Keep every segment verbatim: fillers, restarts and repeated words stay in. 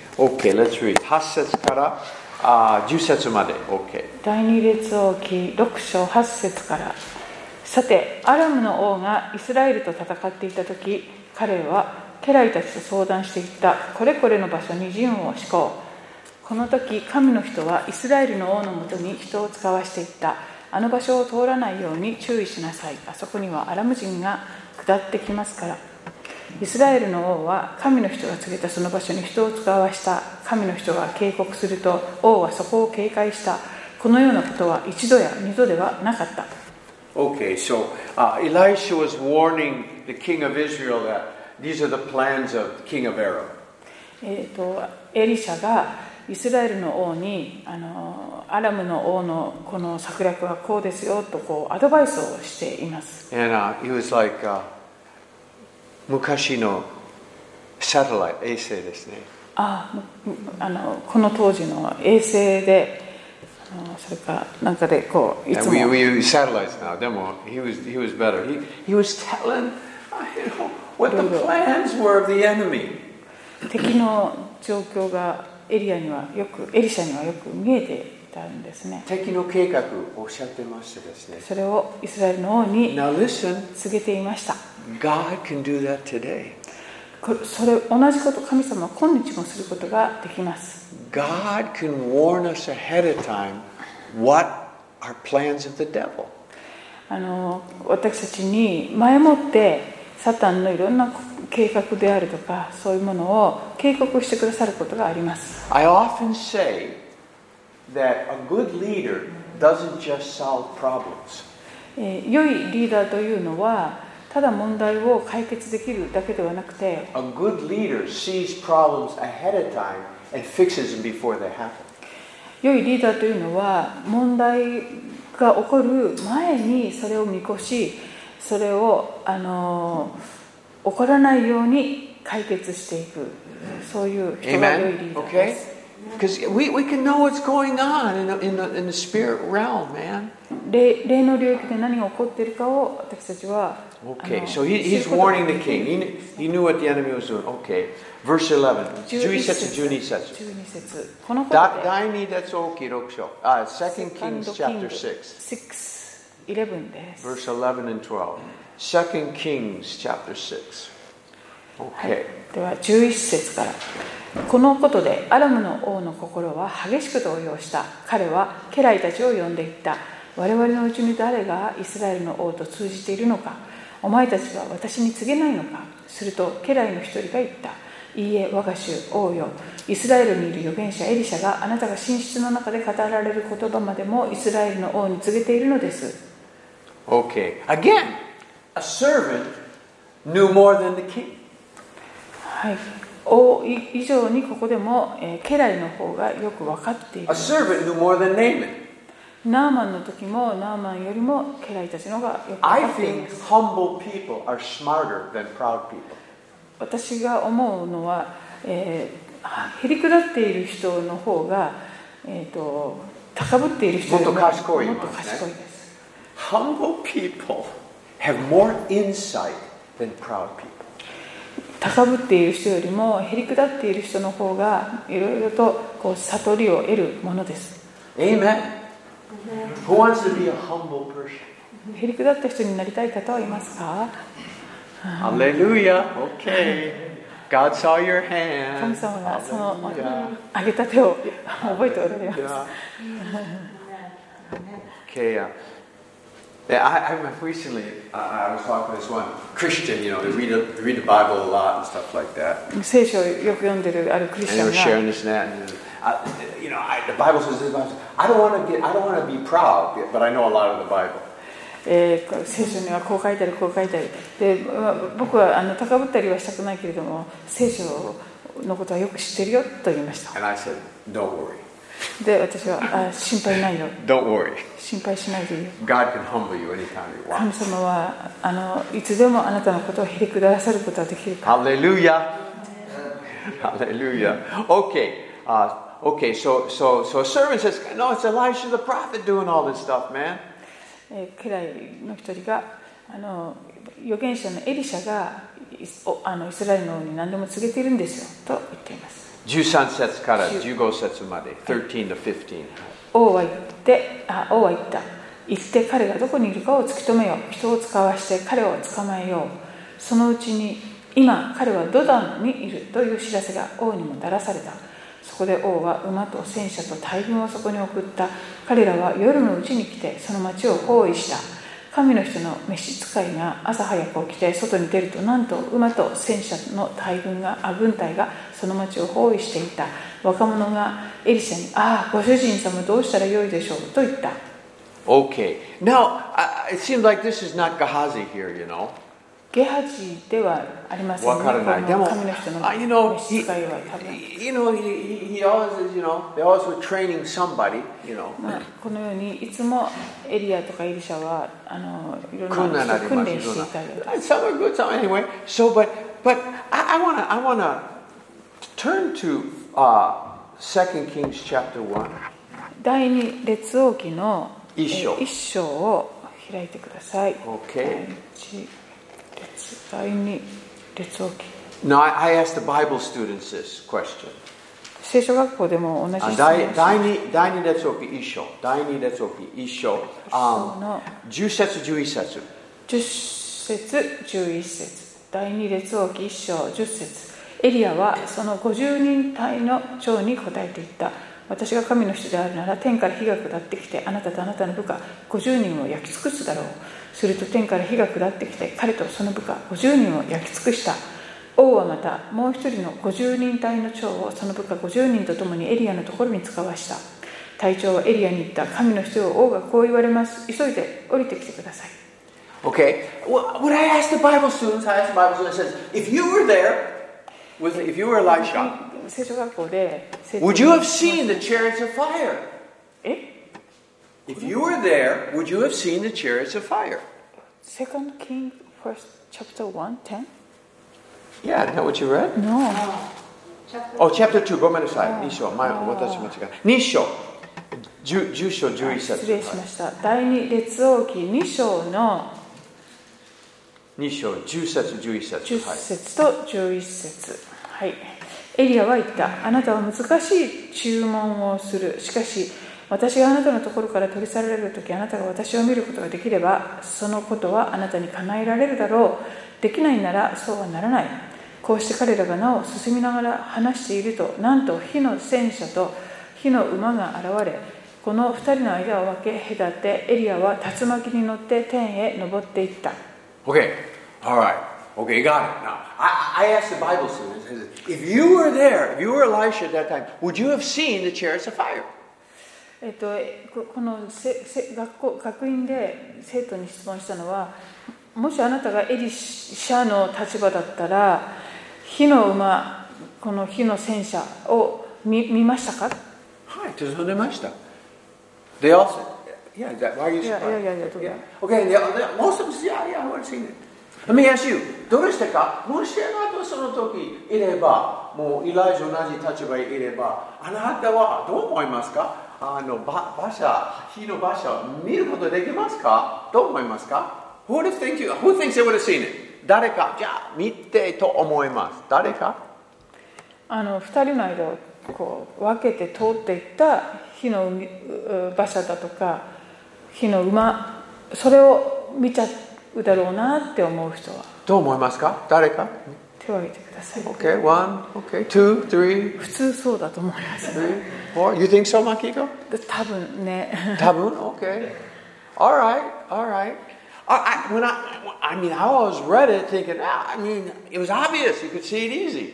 OK, let's read. はち節からあじゅっ節まで。OK。 第二列王記ろく章はち節から。さて、アラムの王がイスラエルと戦っていたとき、彼は家来たちと相談していった。これこれの場所に陣を敷こう。この時、神の人はイスラエルの王のもとに人を使わしていった。あの場所を通らないように注意しなさい。あそこにはアラム人が下ってきますから。イスラエルの王は神の人が告げたその場所に人を使わした。神の人が警告すると王はそこを警戒した。このようなことは一度や二度ではなかった。 Okay, so uh, Elisha was warning the king of Israel that these are the plans of the king of Aram. えっとエリシャがイスラエルの王にあのアラムの王のこの策略はこうですよとこうアドバイスをしています。 And uh, he was like, uh, 昔のサテライト衛星ですね。 ああのこの当時の衛星で。それからなんかでこういつも we, we use satellites now. でも he was he was better. He he was telling you know what the plans were of the enemy. 敵の状況がエリアにはよくエリシャにはよく見えていたんですね。 敵の計画をおっしゃってましたですね。 それをイスラエルの王に Now listen, 告げていました。 God can do that today. それ同じこと神様は今日もすることができます。 God can warn us ahead of time what are plans of the devil. あの私たちに前もってサタンのいろんな計画であるとかそういうものを警告してくださることがあります。 I often say that a good leader doesn't just solve problems. えー、良いリーダーというのはただ問題を解決できるだけではなくて A good leader sees problems ahead of time and fixes them before they happen. 良いリーダーというのは問題が起こる前にそれを見越しそれをあの起こらないように解決していくそういう人が良いリーダーです。 Because we, we can know what's going on in the, in the, in the spirit realm, man. 霊, 霊の領域で何が起こっているかを私たちは Okay, so he, he's warning the king. He, he knew what the enemy was doing. Okay, verse eleven. じゅういち節、じゅうに節。 じゅうに節。このことで第二列王記ろく章。Uh, Second Kings chapter six. six, eleven です。 Verse eleven and twelve. Second Kings chapter six. Okay. はい、ではじゅういち節から。このことでアラムの王の心は激しく動揺した。彼は家来たちを呼んでいった。我々のうちに誰がイスラエルの王と通じているのか。お前たちは私に告げないのか。すると家来の一人が言った。いいえ、我が主王よ。イスラエルにいる預言者エリシャがあなたが寝室の中で語られる言葉までもイスラエルの王に告げているのです。 Okay. Again, a servant knew more than the king. はい。王以上にここでも、えー、家来の方がよく分かっている。 A servant knew more than Naaman. ナーマンの時もナーマンよりも家来たちのがよく分か I っていま think す。 humble people are smarter than proud people. 私が思うのは、えー、へりくだっている人の方が、えー、と高ぶっている人よりももっと賢いもっと賢いです。 Humble people have more insight than proud people. 高ぶっている人よりもへりくだっている人の方がいろいろとこう悟りを得るものです。 Amen. Who wants to be a humble person? へりくだった人になりたい方はいますか？ Hallelujah. Okay. God saw your hand. 神様がその上げた手を覚えておられます。 Okay. Uh, yeah, I, I recently I, I was talking to this one Christian. You know, they read they read the Bible a lot and stuff like that. 聖書をよく読んでるあるクリス And チャ they ン were が sharing this and that. And, uh, you know, I, the Bible says this. I don't want to get. I don't want to be proud, but I know a lot of the Bible. えー、聖書にはこう書いてあるこう書いてあるで僕はあの高ぶったりはしたくないけれども聖書のことはよく知ってるよと言いました。 And I said, "Don't worry. で私はあ心配ないよ Don't worry. 心配しないでいいよ God can humble you anytime He 神 wants." 様はあのいつでもあなたのことをへりくださることはできるから。 Hallelujah. Hallelujah. Okay. Uh, okay. So so so a servant says, "No, it's Elisha the prophet doing all this stuff, man." えー、家来の一人があの預言者のエリシャがあのイスラエルの王に何でも告げているんですよと言っています。 じゅうさん節からじゅうご節まで、じゅうさんとじゅうご。 王は言ってあ王は言った行って彼がどこにいるかを突き止めよう。人を使わして彼を捕まえよう。そのうちに今彼はドダンにいるという知らせが王にもたらされた。そこで王は馬と戦車と大軍をそこに送った。彼らは夜のうちに来てその町を包囲した。神の人の召使いが朝早く起きて外に出ると、なんと馬と戦車の大軍があ軍隊がその町を包囲していた。若者がエリシャに、ああご主人様どうしたらよいでしょうと言った。 Okay. Now, uh, it seems like this is not Gehazi here, you know. ゲハジではありませんね。 わからない。 この神の人の you know, 召使いは多分。 he, you know, he, he always, you know, they always were training somebody, you know. まあ、このようにいつもエリアとかエリシャはあのいろん訓練な人を訓あります。 練していたよ。 Some are good, some anyway. So, but, but I, I wanna, I wanna turn to uh, Second Kings chapter one. 第二列王記の一章。 一章を開いてください。 Okay. 第二列王記。 Now, I, I asked the Bible students this question. 聖書学校でも同じ質問をし第二第二列王記一章、第二列王記一章、um, 十節十一節。 十節十一節。第二列王記一章十節。エリアはその五十人隊の長に答えていった。私が神の人であるなら天から火が下ってきてあなたとあなたの部下ごじゅうにんを焼き尽くすだろう。すると天から火が下ってきて彼とその部下ごじゅうにんを焼き尽くした。王はまたもう一人のごじゅうにん隊の長をその部下ごじゅうにんと共にエリアのところに使わした。隊長はエリアに言った。神の人よ、王がこう言われます。急いで降りてきてください。 Okay, well, when I asked the Bible students, I asked the Bible students, I said, if you were there, with, if you were Elisha, 聖書学校で would you have seen the chariots of fire? え If you were there, would you have seen the chariots of fire? Second King first chapter one ten? Yeah, isn't that what you read? No. Oh, chapter two, ごめんなさい。に章、前私間違え。に章、じゅう章じゅういち節。 失礼しました。第二列王記に章のに章じゅう節じゅういち節。 じゅっ節とじゅういち節。はい。エリアは言った。あなたは難しい注文をする。しかし私があなたのところから取り去られるとき、あなたが私を見ることができればそのことはあなたに叶えられるだろう。できないならそうはならない。こうして彼らがなお進みながら話していると、なんと火の戦車と火の馬が現れ、この二人の間を分け隔て、エリアは竜巻に乗って天へ登っていった。 Okay, all right. Okay, got it. Now, I, I asked the Bible students, if you were there, if you were Elisha at that time, would you have seen the chariots of fire? えっと、このせせ学校学院で生徒に質問したのは、もしあなたがエリシャの立場だったら火の馬、この火の戦車を 見, 見ましたか？ はい、進んでました。They also, yeah, that, why are you surprised? いやいやいやいや、どうだ。 Okay, they, they, most of them said, yeah, yeah, I would have seen it. Let me ask you, どうしてか、もしあなたその時いれば、もうイライジャ同じ立場にいれば、あなたはどう思いますか？あの馬車、火の馬車を見ることできますか？どう思いますか？ Who would have think you, who thinks they would have seen it? 誰か、じゃあ見てと思います。誰か？ あの二人の間をこう分けて通っていった火の馬車だとか火の馬、それを見ちゃうだろうなって思う人はどう思いますか？誰か？ 手を挙げてください。 Okay, one, okay, two, three, 普通そうだと思います。 three, four. You think so, Makiko? 多分ね。 多分 Okay. All right, all right. I, I, when I, I mean, I always read it thinking, ah, I mean, it was obvious. You could see it easy.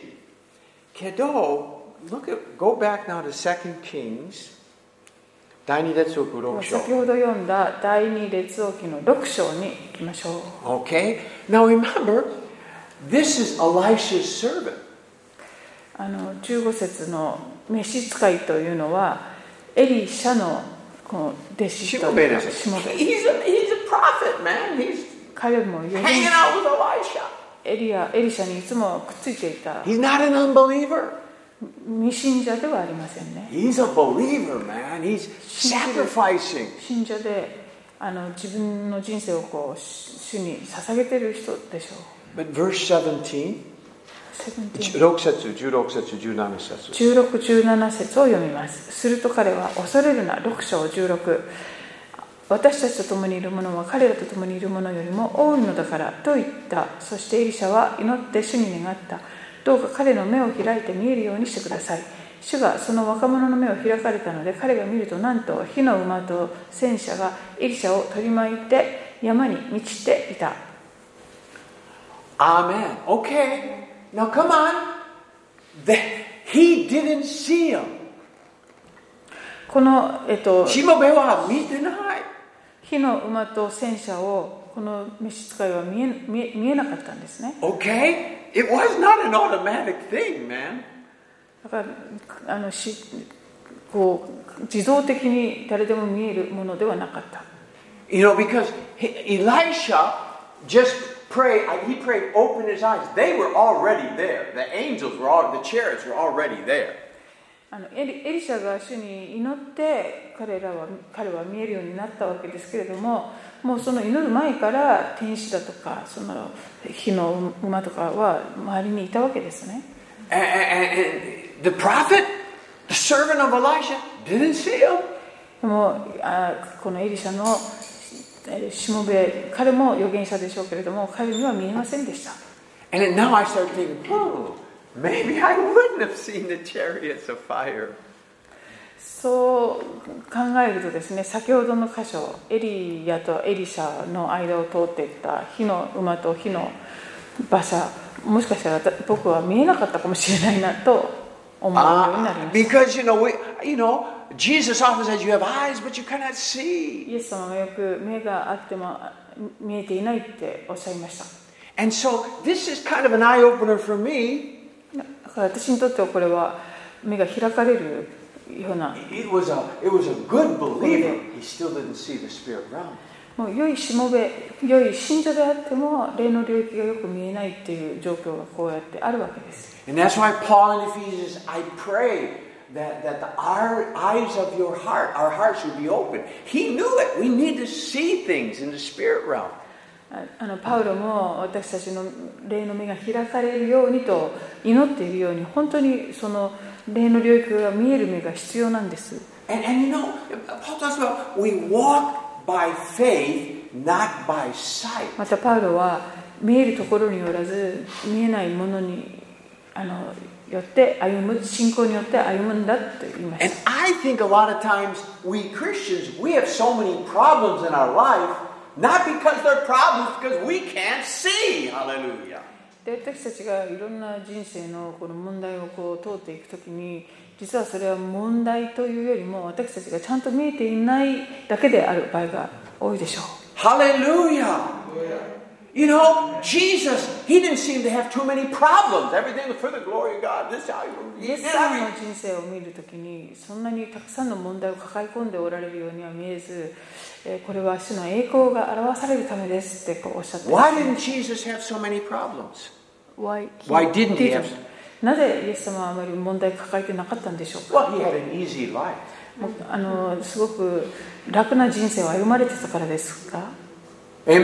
Kedo, look at, go back now to Second Kings. 第二列王記六章。 先ほど読んだ第二列王記の六章に行きましょう。 Okay. Now remember, this is Elisha's servant. あのじゅうご節の召使いというのはエリシャのこの弟子というかしもべ。 He's a, he's a prophet, man. He's 彼もより hanging out with Elisha. エリアエリシャにいつもくっついていた He's not an unbeliever. 未信者ではありませんね。 He's a believer, man. He's sacrificing. 信者であの自分の人生をこう主に捧げている人でしょう。 But verse seventeen. ろく節、じゅうろく節、じゅうなな節。 じゅうろく、じゅうなな節を読みます。すると彼は、恐れるな、ろく章じゅうろく。私たちと共にいる者は彼らと共にいる者よりも多いのだからと言った。そしてエリシャは祈って主に願った。どうか彼の目を開いて見えるようにしてください。主がその若者の目を開かれたので、彼が見ると、なんと火の馬と戦車がエリシャを取り巻いて山に満ちていた。 Amen. Okay. Now come on. The, he didn't see him. この、えっと、 しもべは見てない。 火の馬と戦車をこの召使いは見え、見え、見えなかったんですね。 Okay? It was not an automatic thing, man. だからあのしこう自動的に誰でも見えるものではなかった。 You know, because Elisha just prayed, he prayed, open his eyes. They were already there. The angels were all, the chariots were already there. あのエリ、エリシャが主に祈って彼らは彼は見えるようになったわけですけれども、もうその祈る前から天使だとかその火の馬とかは周りにいたわけですね。 And, and, and the prophet, the servant of Elisha, didn't see him. でもあこのエリシャのしもべ、彼も預言者でしょうけれども、彼には見えませんでした。 And then now I started thinking, oh, maybe I wouldn't have seen the chariots of fire. そう考えるとですね、先ほどの箇所、エリヤとエリシャの間を通っていった火の馬と火の馬車、もしかしたら僕は見えなかったかもしれないなと思うようになりました。 Because you know, we, you know, Jesus often says you have eyes, but you cannot see. イエス様がよく目があっても見えていないっておっしゃいました。 And so this is kind of an eye opener for me. だから私にとってはこれは目が開かれるような。 It was a, it was a good believer. He still didn't see the spirit realm. もう良いしもべ、良い信者であっても霊の領域がよく見えないっていう状況がこうやってあるわけです。 And that's why Paul in Ephesians, I pray that, that the, our eyes of your heart, our hearts would be open. He knew it. We need to see things in the spirit realm. あのパウロも私たちの霊の目が開かれるようにと祈っているように、本当にその霊の領域が見える目が必要なんです。 And, and you know, Paul talks about we walk by faith, not by sight. またパウロは見えるところによらず見えないものにあのよって歩む、信仰によって歩むんだと言いました。 And I think a lot of times we Christians, we have so many problems in our life, not because they're problems, because we can't see. Hallelujah. で私たちがいろんな人生のこの問題をこう通っていくときに、実はそれは問題というよりも私たちがちゃんと見えていないだけである場合が多いでしょう。 Hallelujah. You know, Jesus, he didn't seem to have too many problems. Everything was for the glory of God. This, he イエ did ス様の everything. 人生を見るときにそんなにたくさんの問題を抱え込んでおられるようには見えず、これは主の栄光が表されるためですってこうおっしゃっています。 Why didn't Jesus have so many problems? Why, Why didn't he have? なぜイエス様はあまり問題を抱えてなかったんでしょうか。 Well, he had an easy life. もうあのすごく楽な人生を歩まれてたからですか。 Amen?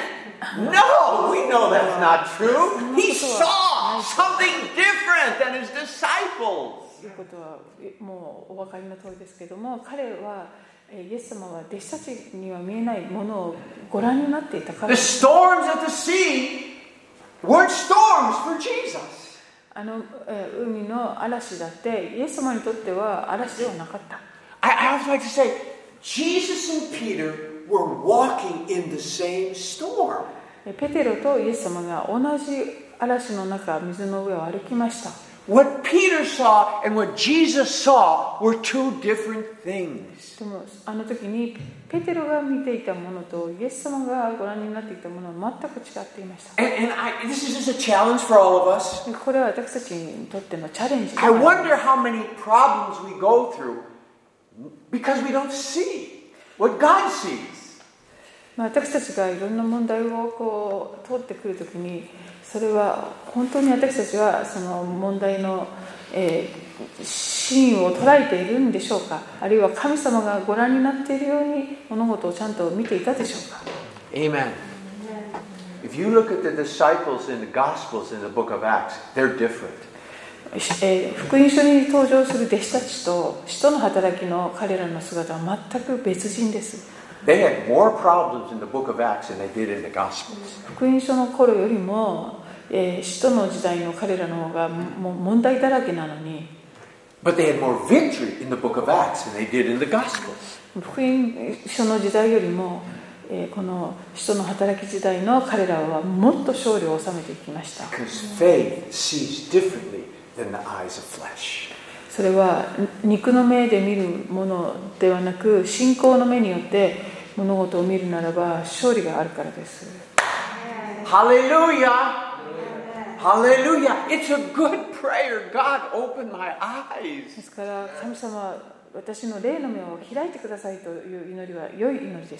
No, we know that's not true. He saw something different than his disciples. ということはもうお分かりの通りですけども、彼はイエス様は弟子たちには見えないものをご覧になっていたから。 The storms at the sea weren't storms for Jesus. あの海の嵐だってイエス様にとっては嵐ではなかった。 I, I always like to say, Jesus and Peter were walking in the same storm. ペテロとイエス様が同じ嵐の中、水の上を歩きました。 What Peter saw and what Jesus saw were two different things. でもあの時にペテロが見ていたものとイエス様がご覧になっていたものは全く違っていました。 And, and I, this is just a challenge for all of us. これは私たちにとってのチャレンジで I もあります。 wonder how many problems we go through because we don't see what God sees. まあ私たちがいろんな問題をこう通ってくるときに、それは本当に私たちはその問題の、えー、真を捉えているんでしょうか、あるいは神様がご覧になっているように物事をちゃんと見ていたでしょうか。 Amen. If you look at the disciples in the Gospels in the book of Acts, they're different. えー、福音書に登場する弟子たちと使徒の働きの彼らの姿は全く別人です。 They had more problems in the book of Acts than they did in the Gospels. 福音書の頃よりも、えー、使徒の時代の彼らの方がもう問題だらけなのに、 But they had more victory in the book of Acts than they did in the Gospels. 福音書の時代よりも、えー、この使徒の働き時代の彼らはもっと勝利を収めていきました。 Because faith sees differently than the eyes of flesh. それは肉の目で見るものではなく、信仰の目によって物事を見るならば勝利があるからです。 Hallelujah! Hallelujah! It's a good prayer. God, open my eyes. ですから神様、私の霊の目を開いてくださいという祈りは良い祈りです。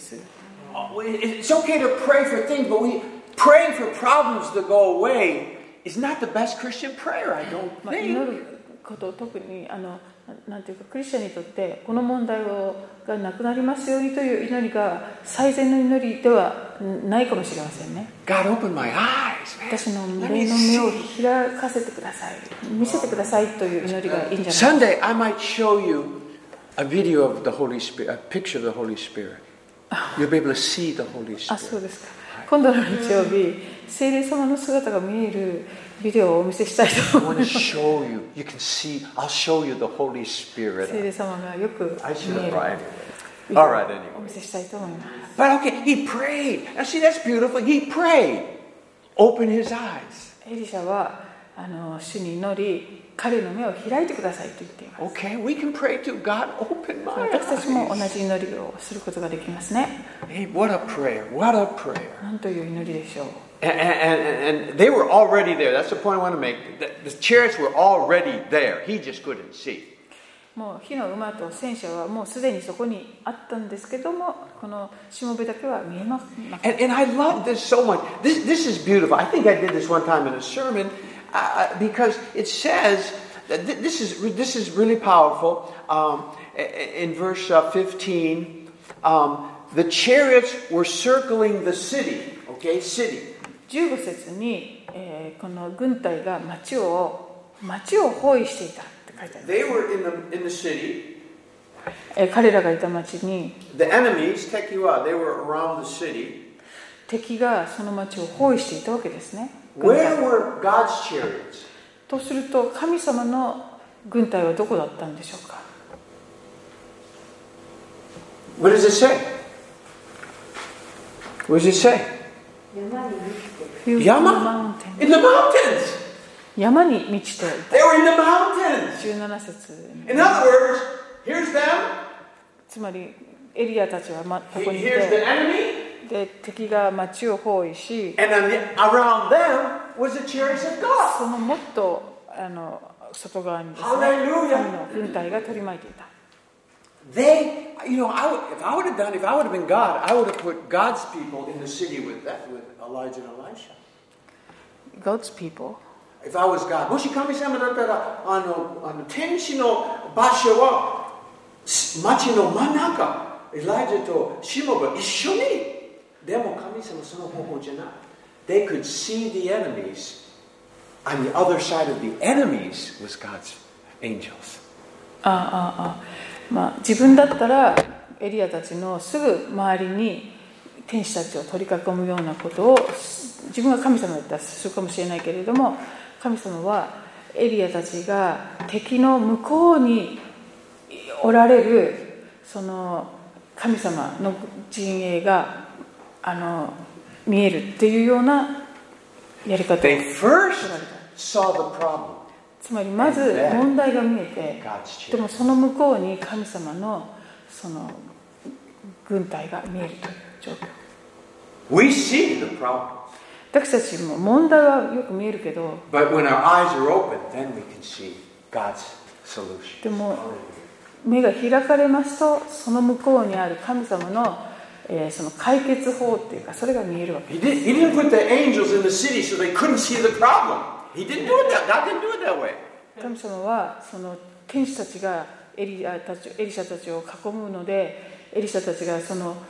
It's okay to pray for things, but we praying for problems to go away is not the best Christian prayer, I don't think. 祈ること、特にあのなんていうかクリスチャンにとってこの問題をがなくなりますようにという祈りが最善の祈りではないかもしれませんね。 God, open my eyes. 私の霊の目を開かせてください、見せてくださいという祈りがいいんじゃないですか。 Sunday, I might show you a video of the Holy Spirit, a picture of the Holy Spirit. You'll be able to see the Holy Spirit. あ、そうですか。今度の日曜日、聖霊様の姿が見えるビデオをお見せしたいと思います。 I want to show you. You can see. I'll show you the Holy Spirit. 聖霊様がよく見える I should have brought it. ビデオを All right, anyway. お見せしたいと思います。 But okay, he prayed. Now see, that's beautiful. He prayed. Open his eyes. エリシャはあの主に祈り、彼の目を開いてくださいと言っています。 Okay, we can pray to God. Open my 私たちも同 eyes. じ祈りをすることができますね。 Hey, what a prayer! What a prayer! なんという祈りでしょう。 And, and, and they were already there. That's the point I want to make. The, the chariots were already there. He just couldn't see. もう火の馬と戦車はもうすでにそこにあったんですけども、このしもべだけは見えません。 And, and I love this so much. This, this is beautiful. I think I did this one time in a sermon uh, because it says that th- this is this is really powerful. Um, in verse uh, fifteen, um, the chariots were circling the city. Okay, city. じゅうご節に、えー、この軍隊が町を町を包囲していたって書いてあります。 They were in the in the city. えー、彼らがいた町に The enemies, Tekiwa, they were around the city. 敵がその町を包囲していたわけですね。軍 Where 隊 were God's chariots? とすると神様の軍隊はどこだったんでしょうか。 What does it say? What does it say? 山 In the mountains. 山に満ちてい They were in the mountains. た。じゅうなな節 In other words, here's them. つまりエリアたちはまここにい Here's the て、 enemy. で敵が町を包囲し、 And then the- around them was the chariots of God. そのもっとあの外側にですね、 Hallelujah. 神の軍隊が取り巻いていた。 They, you know, I would, if I would have done, if I would have been God, I would have put God's people in the city with that, with Elijah and Elisha. God's people. If I was God, もし神様だったら、あの、あの天使の場所は町の真ん中、エライジャとシモが一緒に。でも神様その方法じゃない。They could see the enemies. On the other side of the enemies was God's angels. ああああ、まあ自分だったらエリアたちのすぐ周りに天使たちを取り囲むようなことを自分が神様だったらするかもしれないけれども、神様はエリアたちが敵の向こうにおられるその神様の陣営があの見えるっていうようなやり方を取ら They れ first た。 saw the problem. つまりまず問題が見えて、 God's でもその向こうに神様のその軍隊が見えるという状況。 We see the problem. 私たちも問題はよく見えるけど、 But when our eyes are open, then we can see God's solution. でも目が開かれますと、その向こうにある神様の、えー、その解決法っていうか、それが見えるわけ。 He, did, he didn't put the angels in the city so they couldn't see the problem. He didn't do it that. God didn't do it that way. 神様はその天使たちがエリアたちエリシャたちを囲むので、エリシャたちがその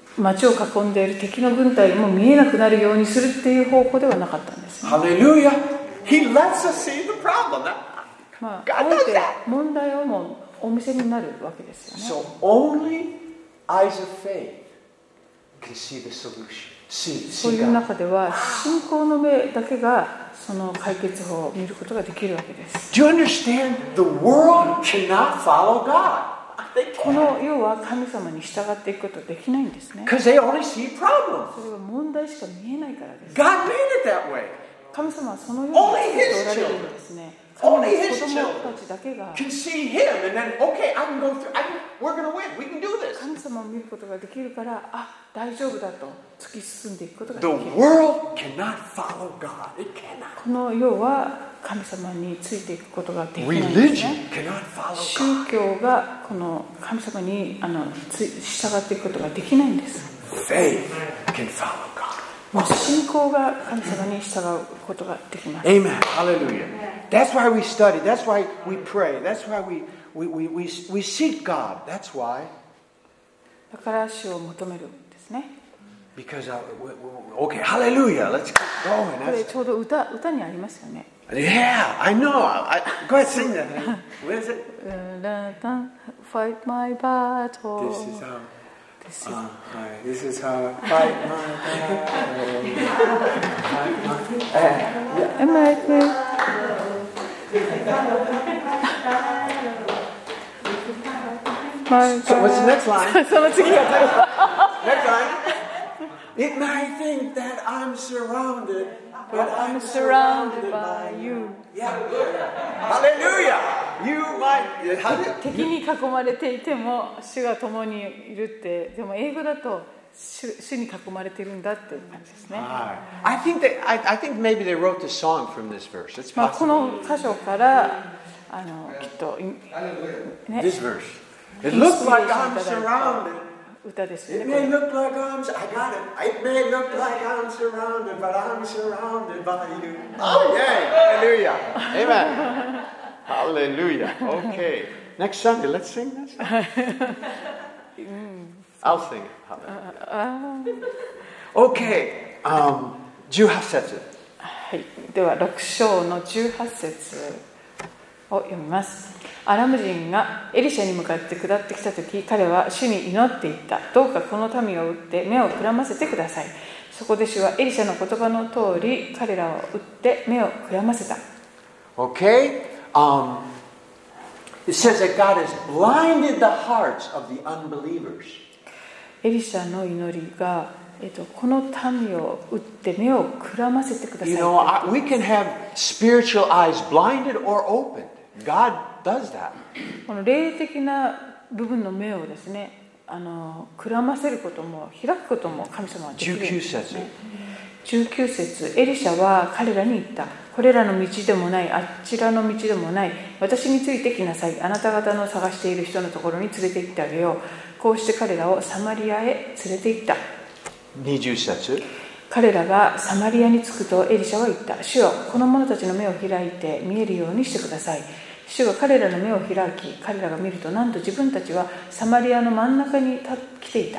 町を囲んでいる敵の軍隊も見えなくなるようにするっていう方法ではなかったんです、ね。 Hallelujah. He lets us see the problem. まあ、あえて問題をもお見せになるわけですよね。 So only eyes of faith can see the solution. See, そういう中では信仰の目だけがその解決法を見ることができるわけです。 Do you understand? The world cannot follow God. この世は神様に従っていくことはできないんですね。 Because they only see problems. それは問題しか見えないからです。 God made it that way. 神様はそのように作っておられるんですね。神の子供たちだけが Can see Him and then okay, I can go through. I can, we're going to win. We can do this. 神様を見ることができるから、あ、大丈夫だと突き進んでいくことがで The きる。 world cannot follow God. It cannot. この世は神様についていくことができないんです Religion ね。 cannot follow 宗教がこの神様にあのつ従っていくことができないんです。 God. Faith can follow God. もう信仰が神様に従うことができます。 Amen. Hallelujah. That's why we study. That's why we pray. That's why we we we we, we seek God. That's why. だから主を求めるんですね。 Because uh, we, we, okay, Hallelujah. Let's keep going. これ That's, ちょうど歌歌にありますよね。 yeah, I know. I, go ahead, sing that. What is it? Fight my battle. This is how. This is- Uh, hi, this is how I fight my battle. Fight my- uh, Am I right? My So what's the next line? その次が Next line. It might think that I'm surrounded, but I'm surrounded by you. Yeah. Hallelujah. You might. How did, 敵に囲まれていても主が共にいるって、でも英語だと 主, 主に囲まれているんだっていう感じですね。 I think that I, I think maybe they wrote the song from this verse. It's まあ、こ possible. の箇所からあのきっと、ね、 This verse. It looks like I'm surrounded. 歌ですよ It ね。 may look like I'm. I got it. It may look like I'm surrounded, but I'm surrounded by you. Oh yeah! Hallelujah! Amen. Hallelujah. Okay. Next Sunday, let's sing this. I'll sing it. Okay. Um, じゅうはち節。 はい、ではろく章のじゅうはち節を読みます。アラム人がエリシャに向かって下ってきたとき、彼は主に祈っていった。どうかこの民を撃って目をくらませてください。そこで主はエリシャの言葉の通り、彼らを撃って目をくらませた。 Okay. Um, it says that God has blinded the hearts of the unbelievers. エリシャの祈りが、えっと、この民を撃って目をくらませてください。 You know, I, we can have spiritual eyes blinded or opened. God does that. この霊的な部分の目をですね、あのくらませることも開くことも神様はできるんですね。じゅうきゅう節、エリシャは彼らに言った。これらの道でもない、あちらの道でもない、私についてきなさい。あなた方の探している人のところに連れて行ってあげよう。こうして彼らをサマリアへ連れて行った。 にじゅう節。 彼らがサマリアに着くとエリシャは言った。主よ、この者たちの目を開いて見えるようにしてください。主が彼らの目を開き、彼らが見ると、なんと自分たちはサマリアの真ん中に来ていた。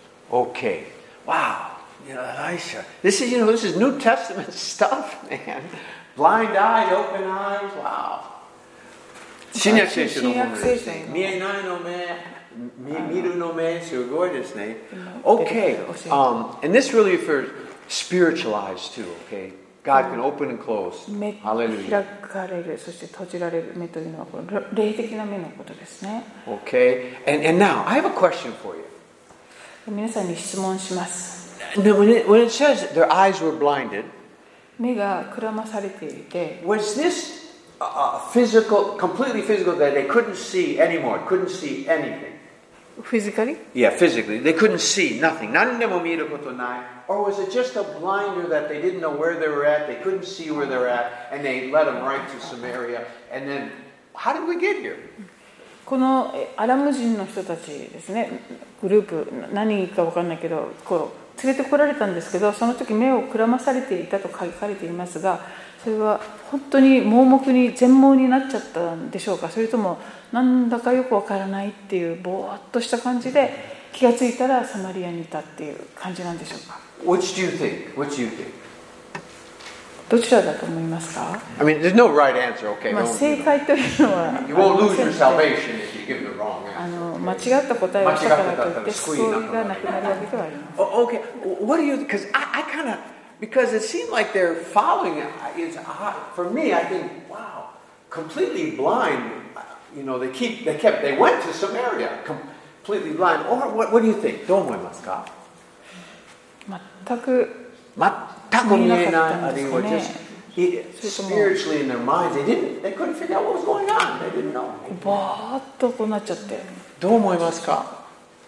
Okay. Wow. You know, Elisha. This is, you know, this is New Testament stuff, man. Blind eyes, open eyes. Wow. 新約聖書のものですね。見えないの目、見るの目、すごいですね。Okay. Um, and this really refers spiritual eyes too, okay? God can open and close. 目 Hallelujah. 開かれる、そして閉じられる目というのはこの霊的な目のことですね。 Okay. And, and now, I have a question for you. 皆さんに質問します。 Now, when it, when it says that their eyes were blinded, 目がくらまされていて、 was this uh, physical, completely physical, that they couldn't see anymore, couldn't see anything? フィジカリ Yeah, physically. They couldn't see nothing. 何でも見ることない. Or was it just a blinder that they didn't know where they were at, they couldn't see where they were at, and they led them right to Samaria? And then, how did we get here? このアラム人の人たちですね、グループ、何か分かんないけど、こう連れてこられたんですけど、その時目をくらまされていたと書かれていますが、それは本当に盲目に全盲になっちゃったんでしょうか。それともなんだかよくわからないっていうぼーっとした感じで気がついたらサマリアにいたっていう感じなんでしょうか。 Which do you think? Which do you think? どちらだと思いますか？ I mean, there's no right answer, okay? まあ Don't- 正解というのは You won't lose your salvation if you give the wrong あ answer. の間違った答えをしたからといって救いがなくなるわけではありません。 Oh, okay, what do you? Because I, I kind of because it seemed like they're following it. It's odd. For me, I think, wow, completely blind. You know, they keep they kept they went to Samaria completely blind. Or what? What do you think? どう思いますか？ 全く全く見えないあるいは just spiritually in their minds they didn't they couldn't figure out what was going on. They didn't know. バーッとこうなっちゃって。 どう思いますか？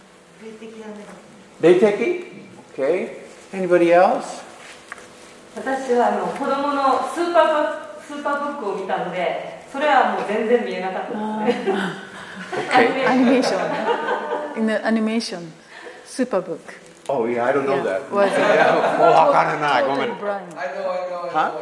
霊的？ Okay. Anybody else? 私はあの子供のスーパースーパーブックを見たので、それはもう全然見えなかったですね。 アニメーション。In the animation, Superbook. Oh yeah, I don't know Yeah. that. Was it- もうわからない。ごめん。 Totally blind. I know, I know, I know. Huh?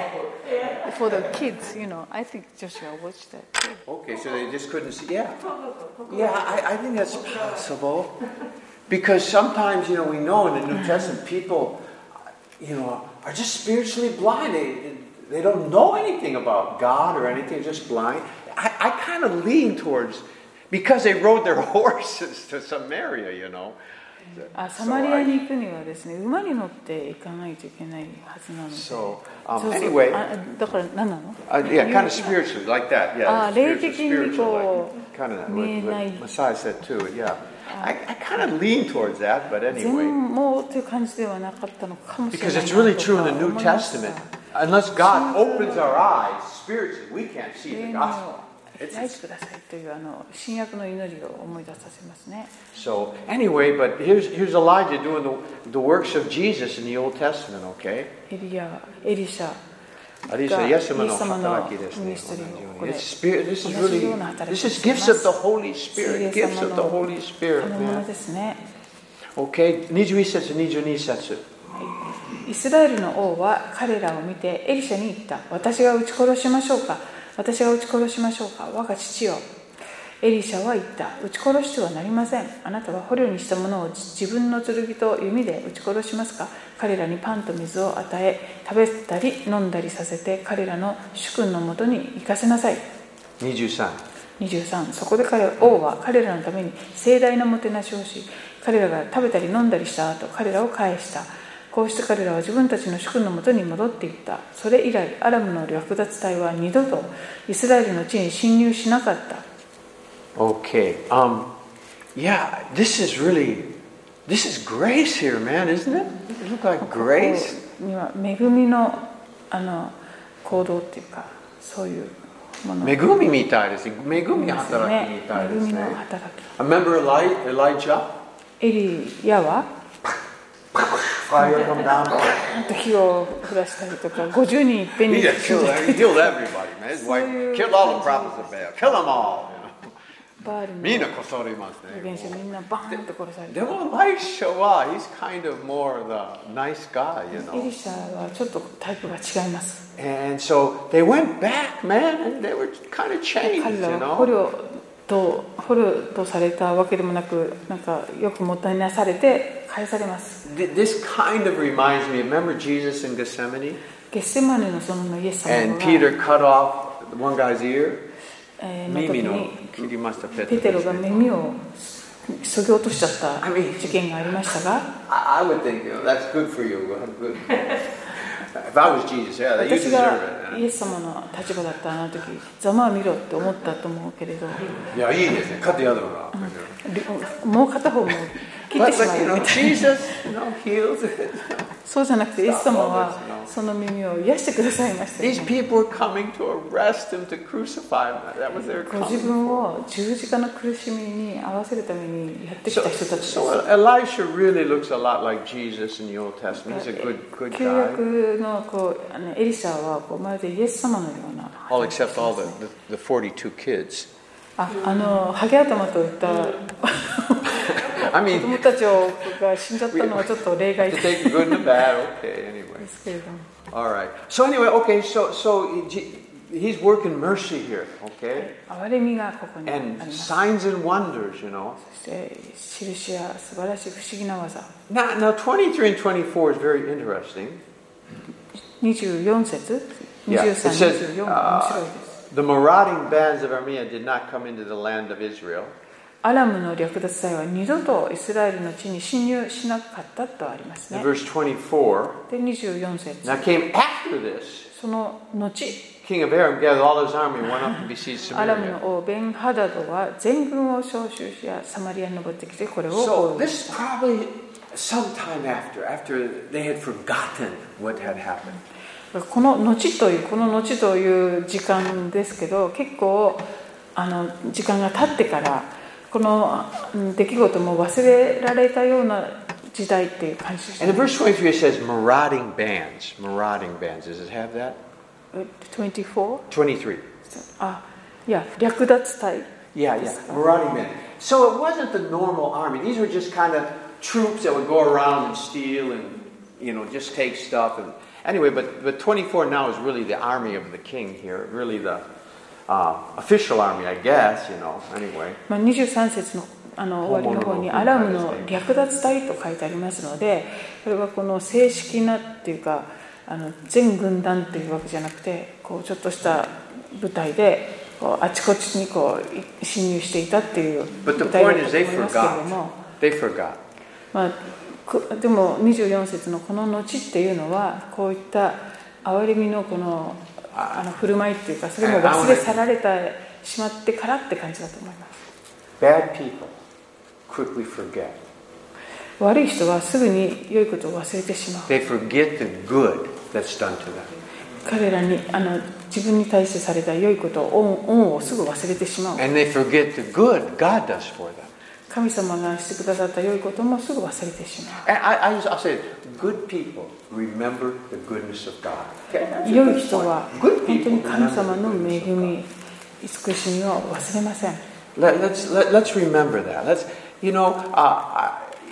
For the kids, you know, I think Joshua watched that. Okay, so they just couldn't see. Yeah, yeah. I, I think that's possible because sometimes, you know, we know in the New Testament people, you know, are just spiritually blind. They, they don't know anything about God or anything. They're just blind. I, I kind of lean towards because they rode their horses to Samaria, you know. あ、サマリアに行くにはですね、馬に乗って行かないといけないはずなので。 So, um, そうそう anyway, あだから何なの？ uh, yeah, kind of spiritually, like that. Yeah, あ、 spiritual, 霊的に spiritual, こ like, kind of う見え what, ない what Messiah said too. Yeah, I, I kind of lean towards that, but 全 anyway, 盲という感じではなかったのかもしれない because な it's と really か true in the 思 New いました Testament. Unless God opens our eyes spiritually, we can't see 霊 the に gospel. 開いてくださいというあの新約の祈りを思い出させますね。 So anyway, but here's here's Elijah doing the the works of Jesus in the Old Testament. Okay, エリア、エリシャ。 アリサイエス様の働きですね。It's spirit. This is really this is gifts of the Holy Spirit. Gifts of the Holy Spirit, 賜物 man. ですね。 Okay, にじゅういち節、にじゅうに節。 イスラエルの王は彼らを見てエリシャに言った。私が撃ち殺しましょうか。私が撃ち殺しましょうか。我が父よ。エリシャは言った。撃ち殺してはなりません。あなたは捕虜にしたものを自分の剣と弓で撃ち殺しますか。彼らにパンと水を与え、食べたり飲んだりさせて彼らの主君のもとに行かせなさい。 にじゅうさん。 にじゅうさん。そこで彼王は彼らのために盛大なもてなしをし、彼らが食べたり飲んだりした後、彼らを返した。こうして彼らは自分たちの主君のもとに戻っていった。それ以来、アラムの略奪隊は二度とイスラエルの地に侵入しなかった。 Okay. Um, yeah, this is really, this is grace here, man, isn't it? It look like ここ grace. には恵みのあの行動っていうか、そういうもの。 恵みみたいですね。恵みですよ働きみたいね。恵みですね。 の働き。 Remember Eli- Elijah? エリヤは Fire come down. あと火を降らしたりとか、ごじゅうにんいっぺん He に just 死ん killed, だ he killed everybody, man. His wife So- killed all the prophets of Baal. Kill them all. バールのみんなこそりますね。 預言者みんなバーンと殺されでた。 もエリシャは he's kind of more the nice guy, you エ know. リシャはちょっとタイプが違います。 And so they went back, man, and they were kind of changed, 彼 you らは捕 know. 虜と捕虜とされたわけでもなく、なんかよくもたなされて返されます。 This kind of reminds me, remember Jesus in Gethsemane? ゲッセマネの園のイエス様 And が、 Peter cut off one guy's ear. えーの時耳のに切りましたペペテロが耳をそぎ落としちゃった I mean- 事件がありましたが、 I, I would think, you know, that's good for you. Good. If I was Jesus, yeah, you 私 deserve が it. イエス様の立場だったあの時、ざまあ見ろって思ったと思うけれど、 いや、いいですね。勝ってやるのが。 もう片方も切っ But, てしま but う you み know, たいな。 Jesus, you know, heals it. そうじゃなくて、イエス様はその耳を癒してくださいましたよ These ね。 people were coming to arrest him, to crucify him. That was their ご自 coming. 分を十字架の苦しみに合わせるためにやってき So, た人たちです so Elisha really looks a lot like Jesus in the Old Testament. He's a good, good 旧 guy. 約のこうあのエリシャはこうまるでイエス様のような All except all the, the, the forty-two kids. ああのハゲ頭といった I 子 mean, 供たちをが死んじゃったのはちょっと例外 to で take the good and the bad. Okay, anyway. すけれども、 All right. So anyway, okay. So so G- he's working mercy here, okay? 憐れみがここにあり And ます。 signs and wonders, you know. そして印や素晴らしい不思議な技。 Now, now twenty-three and twenty-four is very interesting. にじゅうよん節、 Yeah, にじゅう it さん、にじゅ says うよん、面白い uh, です。 the marauding bands of Armenia did not come into the land of Israel. アラムの略奪隊は二度とイスラエルの地に侵入しなかったとありますね。 In verse twenty-four, で、にじゅうよん節。 now came after this, その後、 king of Aram gathered all his army and went up and besieged アラム Samaria. の王ベンハダドは全軍を召集し、サマリアに登ってきてこれを So 攻撃 this is probably sometime after, after they had forgotten what had happened. この後というこの後という時間ですけど、結構あの時間が経ってからこの出来事も忘れられたような時代っていう感じです、ね。 And in verse twenty-three it says marauding bands. Marauding bands. Does it have that? にじゅうよん? twenty-three. あ、いや、略奪隊。 Yeah, yeah. Marauding bands. So it wasn't the normal army. These were just kind of troops that would go around and steal and, you know, just take stuff. And anyway, but, but twenty-four now is really the army of the king here. Really the uh, official army, I guess, you know, anyway. まあ、にじゅうさん節のあの終わりの方にアラムの略奪隊と書いてありますので、これはこの正式なっていうかあの全軍団っていうわけじゃなくて、こうちょっとした部隊でこうあちこちにこう侵入していたっていう部隊だったと思いますけれども、 They forgot. まあ、でもにじゅうよん節のこの後っていうのはこういった憐れみのこのあの振る舞いっていうか、それも忘れ去られてしまってからって感じだと思います。 Bad people quickly forget. 悪い人はすぐに良いことを忘れてしまう。 They forget the good that's done to them. 彼らにあの自分に対してされた良いことを恩、恩をすぐ忘れてしまう。 And they forget the good God does for them. 神様がしてくださった良いこともすぐ忘れてしま And I, I, I'll say, good people remember the goodness of God. う。良い人は本当に神様の恵み、慈しみを忘れません。 Let, let's let, let's remember that. Let's, you know, uh,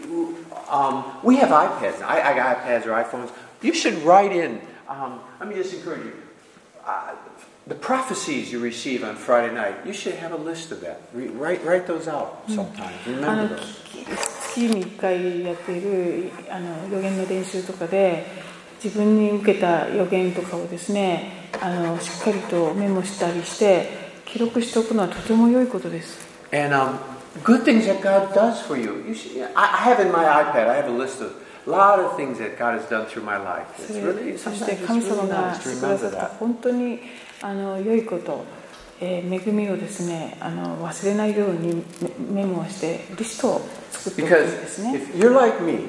um, we have iPads. I, I got iPads or iPhones. You should write in. Um, let me just encourage you. Uh, the prophecies you receive on Friday night. You should have a list of that. Re, write write those out sometimes. あ Remember の those. 月にいっかいやっているあの予言の練習とかで自分に受けた予言とかをですね、あのしっかりとメモしたりして記録しておくのはとても良いことです。 And um, good things that God does for you. You should, I, I have in my iPad. I have a list of a lot of things that God has done through my life. そ It's れ really そし sometimes て it's 神 really 様が nice して to くださ remember った that. 本当にあの良いこと、えー、恵みをですね、あの忘れないようにメモをしてリストを作っておくん Because ですね。 if you're like me,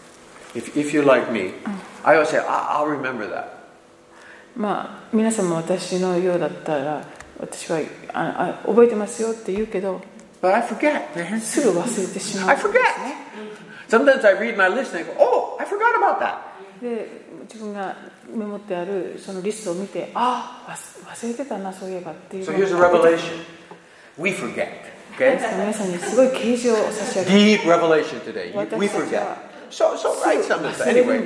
if if you're like me, I always say I, I'll remember that. まあ皆様私のようだったら私はああ覚えてますよって言うけど But I forget, man. すぐ忘れてしまう I んですね。 forget. Sometimes I read my list and I go, oh, I forgot about that. で自分がメモってあるそのリストを見て、ああ忘れてたなそういえばっていう So の here's a が revelation. We forget. Okay? 皆さんにすごい啓示を差し上げ Deep revelation today. You- We 私たち forget. は So so write すぐ something. 忘れるん Anyway. です。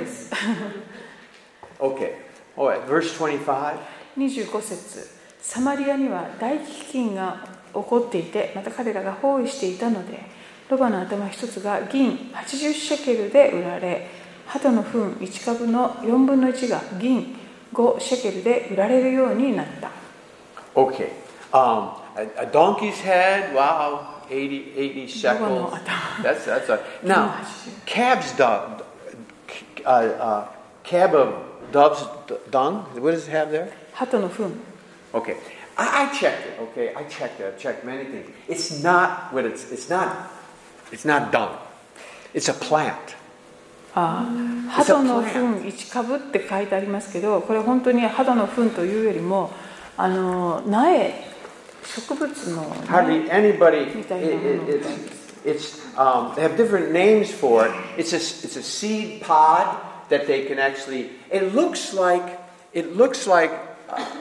Okay. All right. Verse twenty-five. にじゅうご節、サマリアには大飢饉が起こっていて、また彼らが包囲していたので、ロバの頭一つが銀はちじゅうシェケルで売られ、鳩の糞いち株のよんぶんのいちが銀ごシェケルで売られるようになった。 Okay. Um, a, a donkey's head. Wow. eighty, eighty shekels. That's that's a now. Calves dung. Uh, uh, cab of dove's dung. What does it have there? 鳩の糞。 Okay. I, I checked it. Okay. I checked it. I checked many things. It's not what it's. It's not. It's not dung. It's a plant. ああ、鳩の糞いち株って書いてありますけど、これ本当に鳩の糞というよりもあの苗、植物の Hardly anybody. みた It, いなもの it, it's. It's. Um, they have different names for it. It's a. It's a seed pod that they can actually. It looks like. It looks like uh,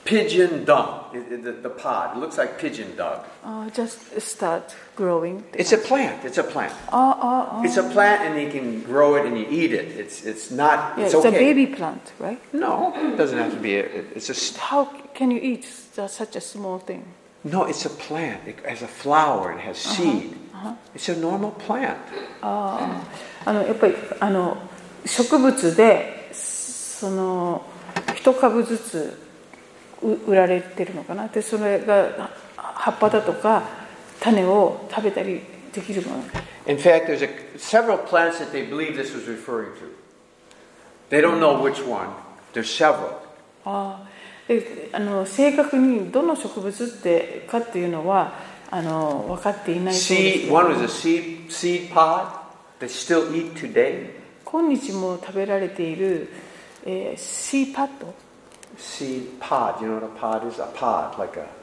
pigeon dung. It, it, the, the pod. It looks like pigeon dung. Uh, just start growing. It's a plant. It's a plant. Uh, uh, uh. It's a plant, and you can grow it and you eat it. It's it's not. Yeah, it's, it's okay. a baby plant, right? No, it doesn't have to be. A, it's just. How can you eat such a small thing? No, it's a plant. It has a flower. It has seed. Uh-huh. It's a normal plant. ああ、あのやっぱりあの植物でその一株ずつ売られてるのかな。でそれが葉っぱだとか種を食べたりできるもの。 In fact, there's a, several plants that they believe this was referring to. They don't know which one. There's several. ああ、であの正確にどの植物ってかっていうのはあの分かっていないそうですけ Seed, ど。 one was a seed seed pod they still eat today. 今日も食べられている、えー、シーパッド。 Seed pod. You know what a pod is? A pod, like a.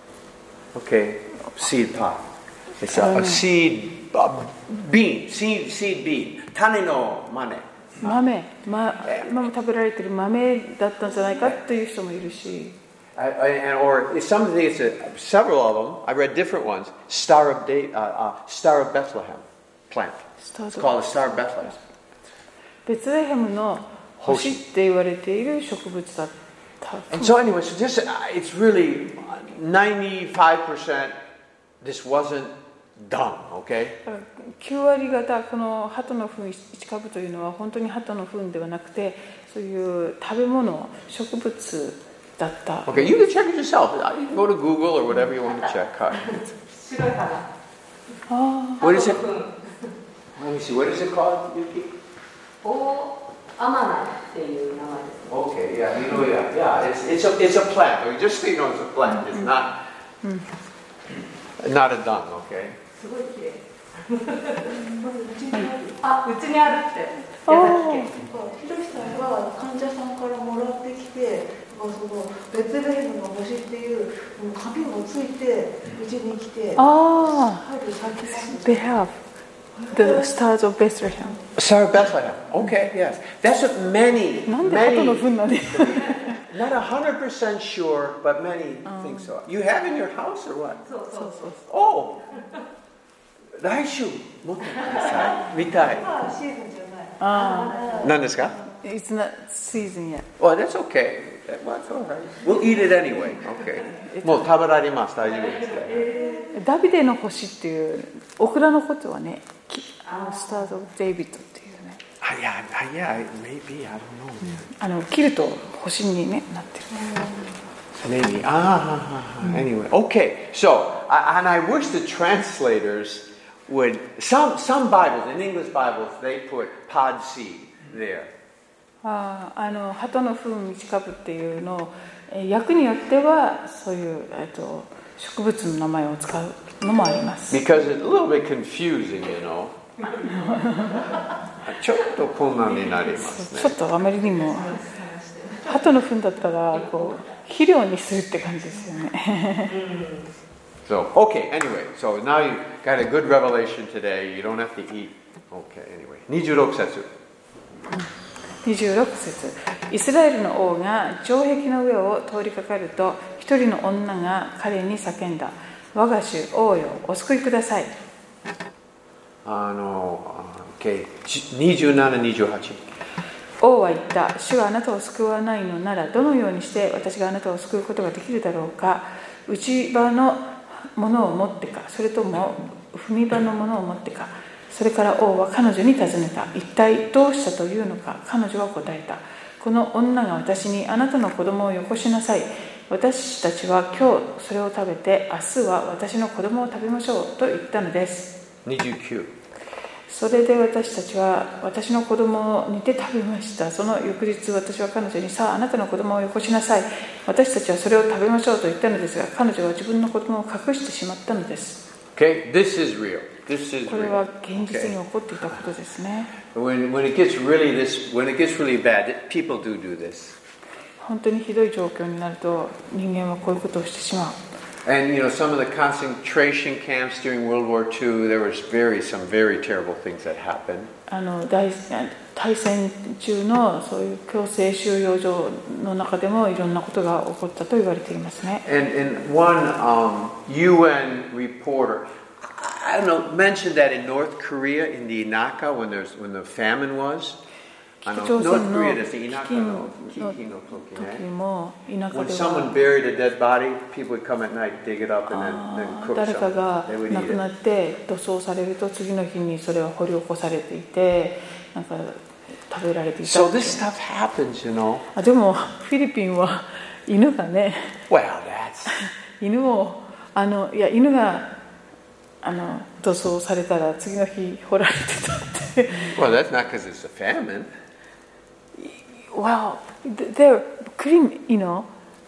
Okay, seed pod. It's a, a seed a bean. Seed seed bean. 種の豆。 豆、ま、今も食べられている豆だったんじゃないかっていう人もいるし。 I, I, and or some of these, uh, several of them. I read different ones. Star of Day, uh, uh, Star of Bethlehem plant. It's called the Star of Bethlehem. ベツレヘムの星って言われている植物だった。 And so anyway, so just uh, it's really ninety-five percent. This wasn't done, okay? きゅう割方この鳩の糞いち株というのは本当に鳩の糞ではなくて、そういう食べ物、植物だった。 Okay, you can check it yourself. You can go to Google or whatever you want to check. 白い花。 あ What is it? Let me see. What is it called, Yuki? オアマナっていう名前です。 Okay, yeah, you know, yeah, yeah. It's it's a it's a plant. I mean, just so you know, it's a plant. It's not not a dung. Okay. すごい綺麗。あ、うちにあるって。 あ。 ひろしさんが患者さんからもらってきて、そのベツレヘムの星っていう紙もついてうちに来て、 ああ。 春咲きます。 They have the stars of Bethlehem. Star of Bethlehem. Okay, yes. That's what many, なんで鳩の many, 糞なんで not a hundred percent sure, but many think so. You have in your house or what? そうそうそう。 Oh, 来週持ってください。見たい。 まあシーズンじゃない。 あ何ですか? It's not season yet. Well, that's okay. Well, that's all right. We'll eat it anyway. Okay. もう食べられます。大丈夫です。 ダビデの星っていうオクラのことはね、あのスターズ・オブ・デイビッドっていうね。 Ah, yeah, ah, yeah, maybe, I don't know. あの切ると星に、ね、なってる。 Maybe. Ah, anyway. Okay, so, I, and I wish the translators would, some, some Bibles, in English Bibles, they put pod seed there. ああの鳩の糞いち株っていうのを訳によってはそういう、えっと、植物の名前を使うのもあります。 Because it's a little bit confusing, you know. ちょっと困難になりますね。 ちょっとあまりにも鳩の糞だったらこう肥料にするって感じですよね。 So, okay, anyway, so now you got a good revelation today. You don't have to eat. Okay, anyway. にじゅうろく節。 にじゅうろく節。イスラエルの王が城壁の上を通りかかると、一人の女が彼に叫んだ。我が主王よ、お救いください。 あの、okay、にじゅうなな、にじゅうはち。 王は言った。主があなたを救わないのなら、どのようにして私があなたを救うことができるだろうか。内場のものを持ってか、それとも踏み場のものを持ってか。それから王は彼女に尋ねた。一体どうしたというのか。彼女は答えた。この女が私にあなたの子供をよこしなさい。私たちは今日それを食べて、明日は私の子供を食べましょうと言ったのです。 にじゅうきゅう。 それで私たちは私の子供を煮て食べました。その翌日私は彼女に、さああなたの子供をよこしなさい。私たちはそれを食べましょうと言ったのですが、彼女は自分の子供を隠してしまったのです。 Okay, this is real. This is これは real. 現実に起こっていたことですね。 When, when it gets really this, when it gets really bad, people do do this. 本当にひどい状況になると人間はこういうことをしてしまう。 And you know, some of the concentration camps during World War Two, there was very some very terrible things that happened. あの大大戦中のそういう強制収容所の中でもいろんなことが起こったと言われていますね。 And, and one um, U N reporter, I don't know, mentioned that in North Korea, in the Inaka, when there's when the famine was. 北朝鮮の飢饉の時も田舎 When で someone は buried a dead body, people would come at night, dig it up, and then, then cook 誰か something. が They would 亡 eat くな it. って土葬されると次の日にそれは掘り起こされていてなんか食べられていた So って this stuff happens, you know. あでもフィリピンは犬がね Well, that's 犬をあのいや犬があの土葬されたら次の日掘られてたって well, that's not because it's a famine. Well, they're clean, you know.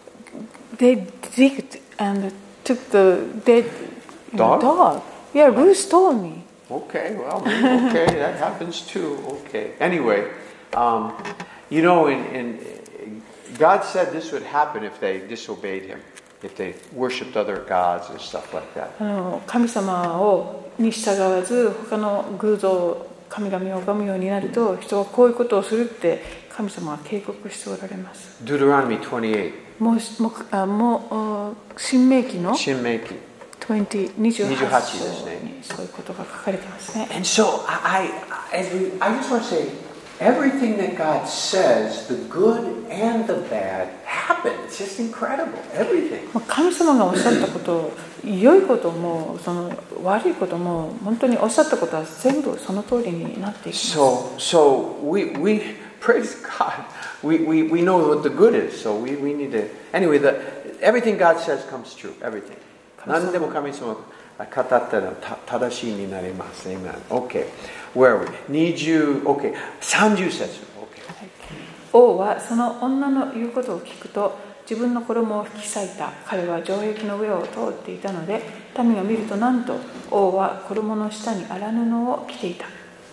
They digged and took the dead you know, Dog? dog. Yeah, Bruce told me. Okay, well, okay, that happens too. Okay. Anyway, um, you know, in, in God said this would happen if they disobeyed Him, if they worshipped other gods and stuff like that. あの神様をに従わず他の偶像神々を拝むようになると人はこういうことをするって神様は警告しておられます。 Deuteronomy twenty-eight. もうもうあもう新明記の Shinmeiki. にじゅうはち章ですね。 にそういうことが書かれてますね。 And so I, I, as we, I just want to say, everything that God says, the good and the bad, happen. It's just incredible. Everything. 神様がおっしゃったこと良いこともその悪いことも本当におっしゃったことは全部その通りになっていきます。 So, so we, we praise God. We, we, we know what the good is. So we, we need to. Anyway, the, everything God says comes true. Everything. 何でも神様が語ったら正しいになります。Amen. Okay. Where are we? 20, okay. さんじゅう節。Okay. 王はその女の言うことを聞くと自分の衣を引き裂いた。彼は城壁の上を通っていたので民が見るとなんと王は衣の下に荒布を着ていた。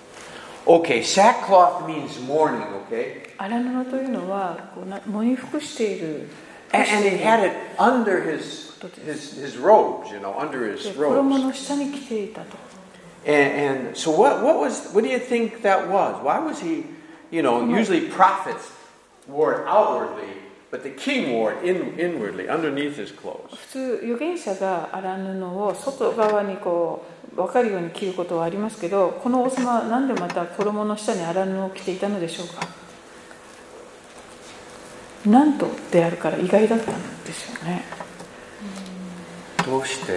Okay, sackcloth means mourning, okay? 荒布というのはこうな喪に服している。 And, and he had it under his, his, his robes, you know, under his 衣 robes. の下に着ていたと。 And, and so what, what was, what do you think that was? Why was he, you know, usually prophets wore it outwardly, but the king wore it in, inwardly, underneath his clothes. 普通預言者が荒布を外側にこう分かるように着ることはありますけど、この王様は何でまた衣の下に荒布を着ていたのでしょうか。なんとであるから意外だったんですよね。 どうして?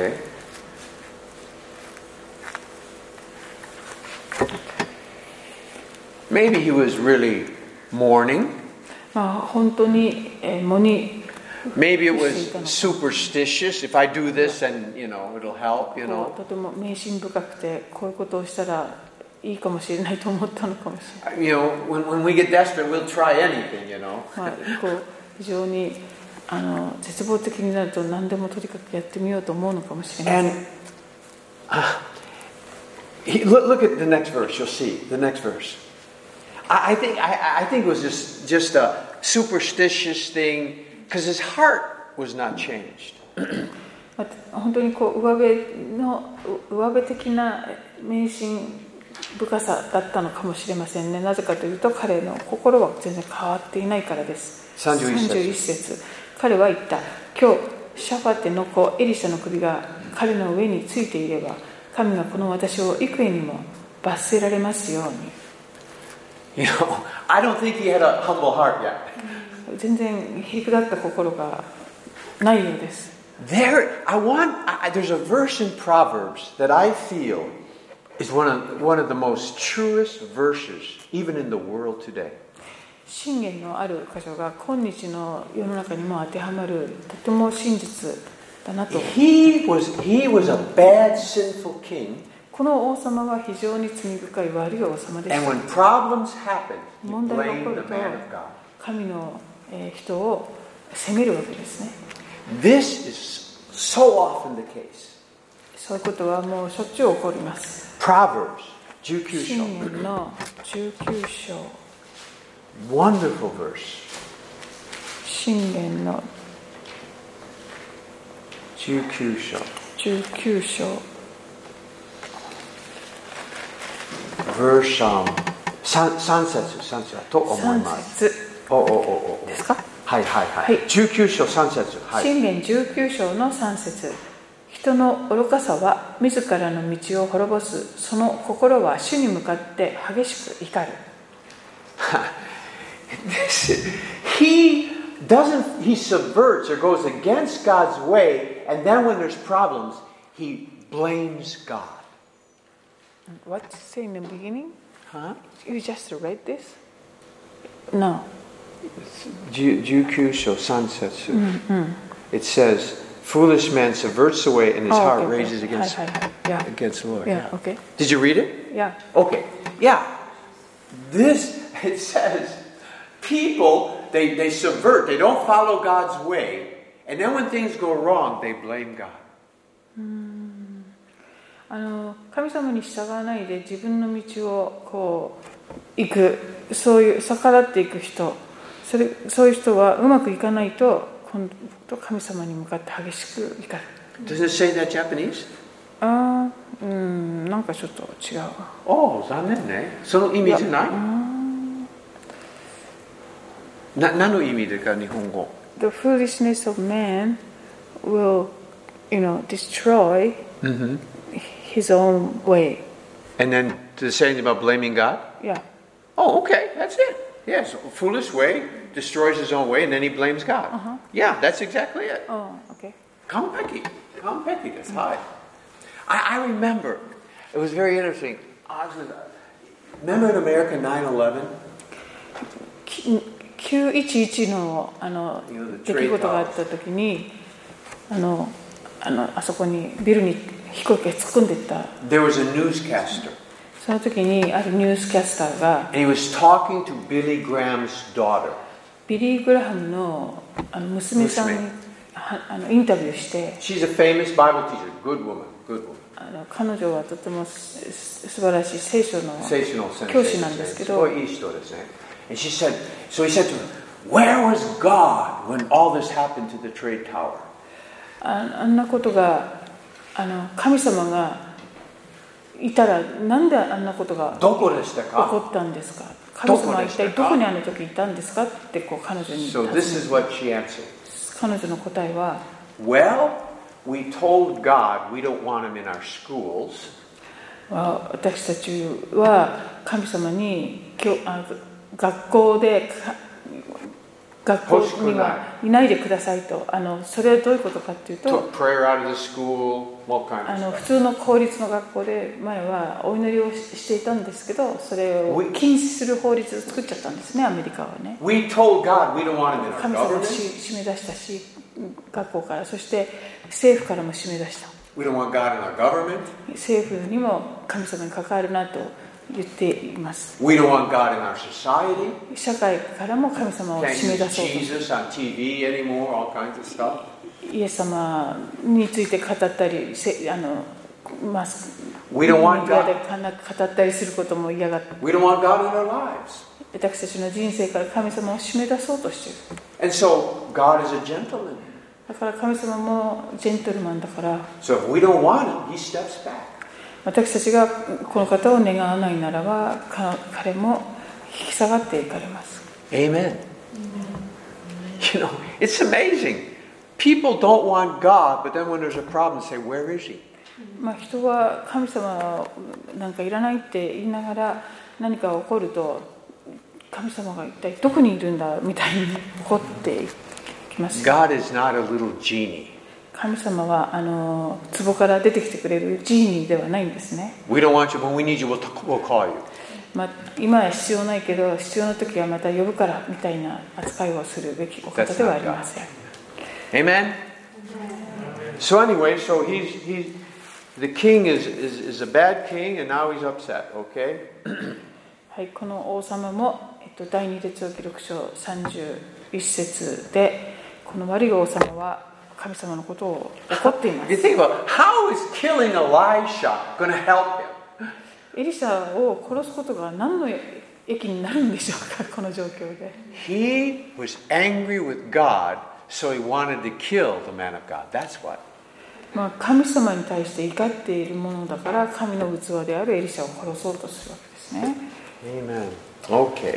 Maybe he was really mourning. まあ本当に喪に Maybe it was superstitious. If I do this, and you know, it'll help. You know. とても迷信深くてこういうことをしたらいいかもしれないと思ったのかもしれない。 You know, when when we get desperate, we'll try anything. You know. まあこう非常にあの絶望的になると何でもとにかくやってみようと思うのかもしれません。 And uh, he, look, look at the next verse. You'll see the next verse. I, I think I, I think it was just just a superstitious thing because his heart was not changed. 本当にこう上辺の上辺的な迷信深さだったのかもしれませんね。なぜかというと彼の心は全然変わっていないからです。 さんじゅういち節。 さんじゅういち節。彼は言った。今日シャファテの子エリシャの首が彼の上についていれば神がこの私を幾重にも罰せられますように。 You know, I don't think he had a humble heart yet. 全然へりくだった心がないようです。 There, I want. I, there's a verse in Proverbs that I feel is one of one of the most truest verses, even in the world today. 箴言のある箇所が今日の世の中にも当てはまるとても真実だなと。 He was he was a bad, sinful king. この王様は非常に罪深い悪い王様でし And た。 when problems happen, he 問題が起 blamed こる the と man of God. 神のえー人を責めるわけですね。 This is so often the case. そういうことはもうしょっちゅう起こります。 Proverbs, じゅうきゅう章。 箴言のじゅうきゅう章。 Wonderful verse. 箴言のじゅうきゅう章。 じゅうきゅう章。 Verse um, 三三節、三節だと思います。 さん節おおおおですか？ はいはいはい。 はいじゅうきゅう章さん節。はい。 箴言じゅうきゅう章のさん節。人の愚かさは自らの道を滅ぼす。その心は主に向かって激しく怒る。 He doesn't, he subverts or goes against God's way, and then when there's problems, he blames God. What did you say in the beginning? Huh? You just read this? No. じゅうきゅう章さん節。It says, foolish man subverts the way and his Oh, heart okay, okay. rages against, Hi, hi, hi. Yeah. against the Lord. Yeah, okay. Did you read it? Yeah. Okay. Yeah. This, it says, people, they, they subvert, they don't follow God's way, and then when things go wrong, they blame God. あの神様に従わないで自分の道をこう行く、そういう逆らっていく人、それそういう人はうまくいかないと今度神様に向かって激しく怒る。 Does it say that Japanese? ああ、うん、なんかちょっと違う。 おお、残念ね。その意味じゃない？な、何の意味ですか、日本語？ The foolishness of man will, you know, destroy his own way. And then to say anything about blaming God? Yeah. Oh, okay, that's it. Yes, a foolish way destroys his own way, and then he blames God. Uh-huh. Yeah, that's exactly it. Oh, okay. 完璧。完璧です。はい。I, I remember, it was very interesting. Remember in America nine eleven? きゅういちいちのあの出来事があった時に、あのあのあそこにビルに飛行機が突っ込んでいった。 There was a newscaster. その時にあるニュースキャスターが、 And he was talking to Billy Graham's daughter. ビリー・グラハムのあの娘さんにあのインタビューして、 She's a famous Bible teacher, good woman, good woman. あの彼女はとてもす素晴らしい聖書の教師なんですけど、 すごいいい人ですね。And she said, so he said to her, where was God when all this happened to the trade tower? あ, あんなことがあの神様がいたらなんであんなことがどこでしたか？ 起こったんですか？神様は一体どこにあの時いたんですかってこう彼女に尋ね So this is what she answered. 彼女の答えは、 Well, we told God we don't want him in our schools. 私たちは神様にあ学校で学校にはいないでくださいと。あのそれはどういうことかっていうと、あの普通の公立の学校で前はお祈りをしていたんですけど、それを禁止する法律を作っちゃったんですね、アメリカはね。 We told God we don't want him in our 神様を締め出したし、学校から、そして政府からも締め出した。 We don't want God in our government. 政府にも神様に関わるなと言っています。 We don't want God in our society. 社会からも神様を締め出そうと。 Jesus on T V anymore, all kinds of stuff. イエス様について語ったり、あのまあ、 We don't want メディアで語ったりすることも嫌がって。 We don't want God in our lives. 私たちの人生から神様を締め出そうとしている。 And so God is a gentleman. だから神様もジェントルマンだから。 So if we don't want him, he steps back. 私たちがこの方を願わないならば、彼も引き下がっていかれます。 Amen. You know, it's amazing. People don't want God, but then when there's a problem, say, where is he? まあ人は神様なんかいらないって言いながら何か起こると、神様が一体どこにいるんだみたいに怒っていきます。 God is not a little genie. 神様はあの壺から出てきてくれるジーニーではないんですね。 We don't want you, but when we need you, we'll, we'll call you. まあ、今は必要ないけど、必要な時はまた呼ぶからみたいな扱いをするべきお方ではありません。 Amen? So anyway, so he's, he's, the king is, is, is a bad king, and now he's upset, okay? はい、この王様も、えっと、第二列王記録書さんじゅういち節で、この悪い王様は神様のことを怒っています。 You think about how is killing Elisha going to help him? エリシャを殺すことが何の益になるんでしょうか、この状況で。 He was angry with God, so he wanted to kill the man of God. That's what. まあ神様に対して怒っているものだから、神の器であるエリシャを殺そうとするわけですね。 Amen. Okay.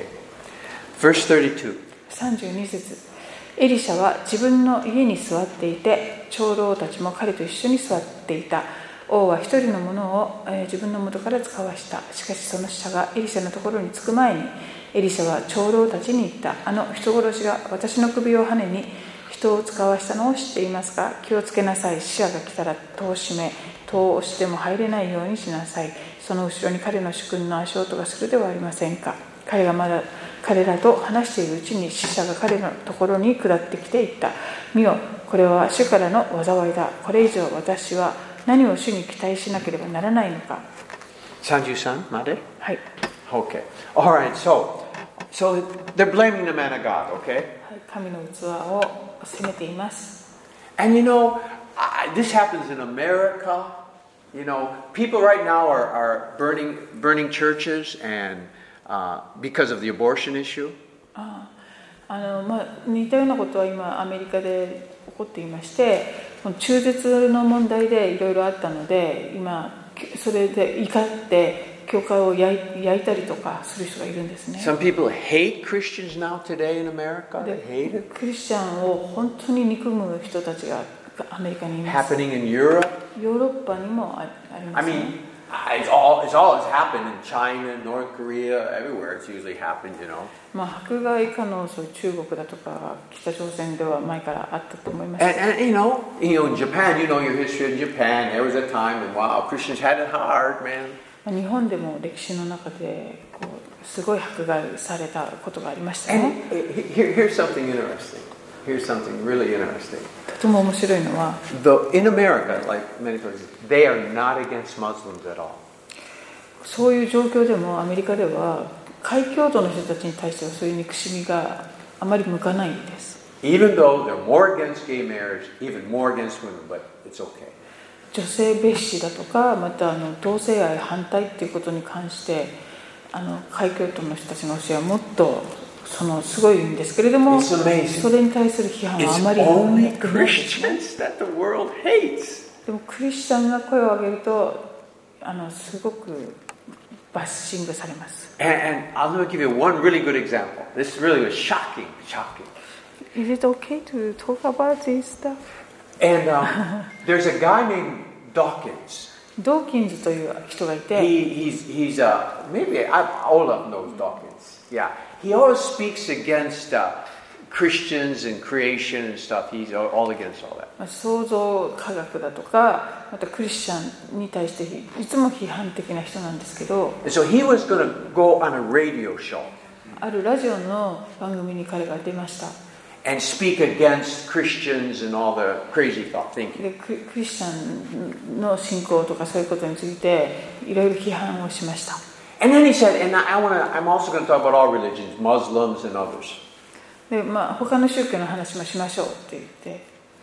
Verse thirty-two. さんじゅうに節。エリシャは自分の家に座っていて、長老たちも彼と一緒に座っていた。王は一人の者を、えー、自分の元から使わした。しかしその使者がエリシャのところに着く前に、エリシャは長老たちに言った。あの人殺しが私の首をはねに人を使わしたのを知っていますか？気をつけなさい。使者が来たら戸を閉め、戸を押しても入れないようにしなさい。その後ろに彼の主君の足音がするではありませんか。彼がまだ彼らと話しているうちに使者が彼のところに下ってきて言った。見よ、これは主からの災いだ。これ以上私は何を主に期待しなければならないのか。 さんじゅうさんまで？ はい。 Okay. All right. So, so they're blaming the man of God. Okay. 神の器を責めています。 And you know, I, this happens in America. You know, people right now are, are burning burning churches and uh, because of the abortion issue. ああ、あのまあ似たようなことは今アメリカで起こっていまして、中絶の問題でいろいろあったので、今それで怒って教会を焼い、焼いたりとかする人がいるんですね。 Some people hate Christians now today in America. They hate it. クリスチャンを本当に憎む人たちがアメリカにいます。 Happening in Europe. ヨーロッパにもあります、ね。 I mean, it's all it's all has happened in China, North Korea, everywhere. It's usually happened, you know. まあ迫害可能性中国だとか北朝鮮では前からあったと思います。 And, and you know, you know, in Japan, you know your history in Japan. There was a time when wow, Christians had it hard, man. 日本でも歴史の中でこうすごい迫害されたことがありましたね。 And here, here's something interesting. Here's something really interesting. とても面白いのは、 The, in America, like many places, they are not against Muslims at all. そういう状況でもアメリカでは開教徒の人たちに対してはそういう憎しみがあまり向かないんです。 Even though they're more against gay marriage, even more against women, but it's okay. 女性蔑視だとか、またあの同性愛反対っていうことに関してあの開教徒の人たちの教えはもっとそのすごいんですけれども、それに対する批判はあまりないですね。でもクリスチャンが声を上げるとあのすごくバッシングされます。 And, and I'll give you one really good example. This really was shocking, shocking. Is it okay to talk about this stuff? And um, there's a guy named Dawkins. ドーキンズという人がいて、 He, he's, he's uh, maybe I, Olaf knows Dawkins. Yeah, he always speaks against uh, Christians and creation and stuff. He's all against all that. 創造科学だとか、またクリスチャンに対していつも批判的な人なんですけど、 And so he was going to go on a radio show あるラジオの番組に彼が出ました。 and speak against Christians and all the crazy thought thinking. でクリスチャンの信仰とかそういうことについていろいろ批判をしました。 And then he said, and I want to, I'm also going to talk about all religions, Muslims and others. で、まあ、他の宗教の話もしましょうって言って、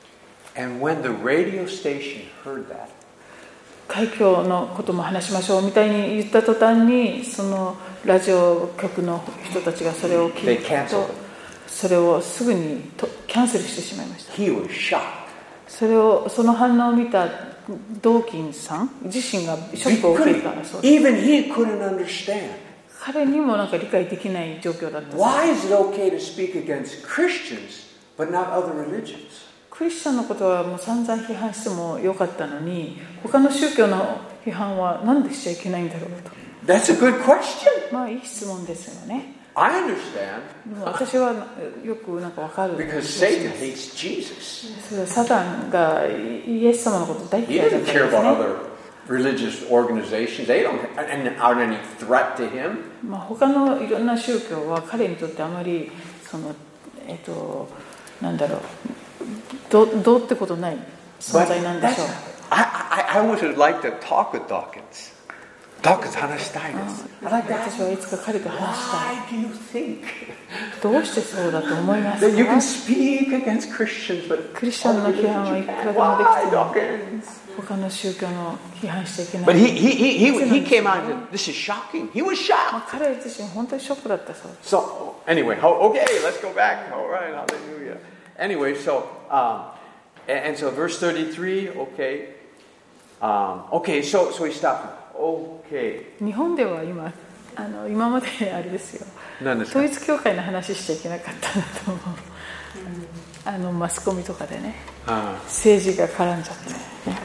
And when the radio station heard that, 開教のことも話しましょうみたいに言った途端に、そのラジオ局の人たちがそれを聞いたと、それをすぐにとキャンセルしてしまいました。 he was shocked. それをその反応を見たドーキンさん自身がショックを受けたそうです。 Even he couldn't understand. 彼にもなんか理解できない状況だったそうです。 Why is it okay to speak against Christians but not other religions? クリスチャンのことはもう散々批判してもよかったのに、他の宗教の批判はなんでしちゃいけないんだろうと。 That's a good question. まあいい質問ですよね。 I understand. でも私はよくなんかわかる。 Because Satan hates Jesus. それはサタンがイエス様のこと大 He 嫌いだっ doesn't たん care です about ね。 other religious organizations. They don't and aren't any threat to him. まあ他のいろんな宗教は彼にとってあまりそのえっとなんだろうどどうってことない存在なんでしょう。 I, I, I would like to talk with Dawkins. Dawkins 話したいです。 私はいつか彼と話したい。 Why do you think どうしてそうだと思いますか？ that you can speak against Christians, but クリスチャンの批判はいくらでもでき why ても Dawkins? 他の宗教の批判しちゃいけない。 But he he he he he came out and said, "This is shocking." He was まあ shocked. 彼自身本当にショックだったそうです。 So anyway, how, okay, let's go back. All right, hallelujah. Anyway, so um, and, and so verse thirty-three. Okay, um, okay. So so he stopped. Okay. 日本では今あの今まであれですよ、 何ですか？ 統一教会の話しちゃいけなかったなと思う、うん、あのマスコミとかでね、 ああ政治が絡んじゃって、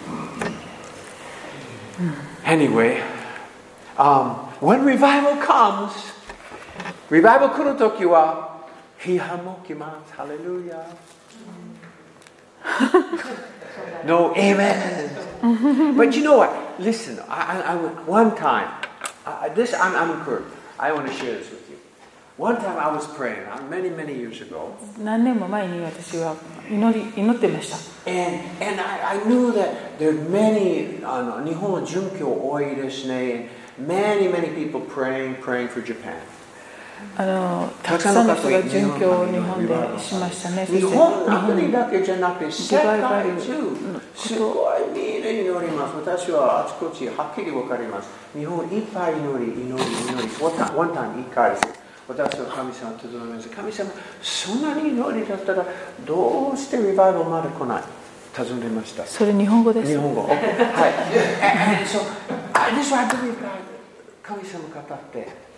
うん、Anyway, um, when revival comes, revival 来るときは批判も来ます。ハレルヤ。No, amen. But you know what? Listen, I, I, I one time, I, this I'm, I'm encouraged. I want to share this with you. One time I was praying, many, many years ago. 何年も前に私は祈り祈ってました。 And and I, I knew that there are many あの日本は殉教多いですね。Many, many people praying, praying for Japan. あのたくさんの人が殉教を日本でしましたね。 日本の国だけじゃなくて世界中すごいみんな祈ります。私はあちこちはっきりわかります。日本いっぱい祈り、祈り、祈り。One time いっかいです。私は神様と頼みます。神様、そんなに祈りだったらどうしてリバイバルまで来ない？尋ねました。 それ日本語です。 日本語。はい。And so, I just want to believe God. 神様語って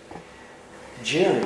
。Jerry,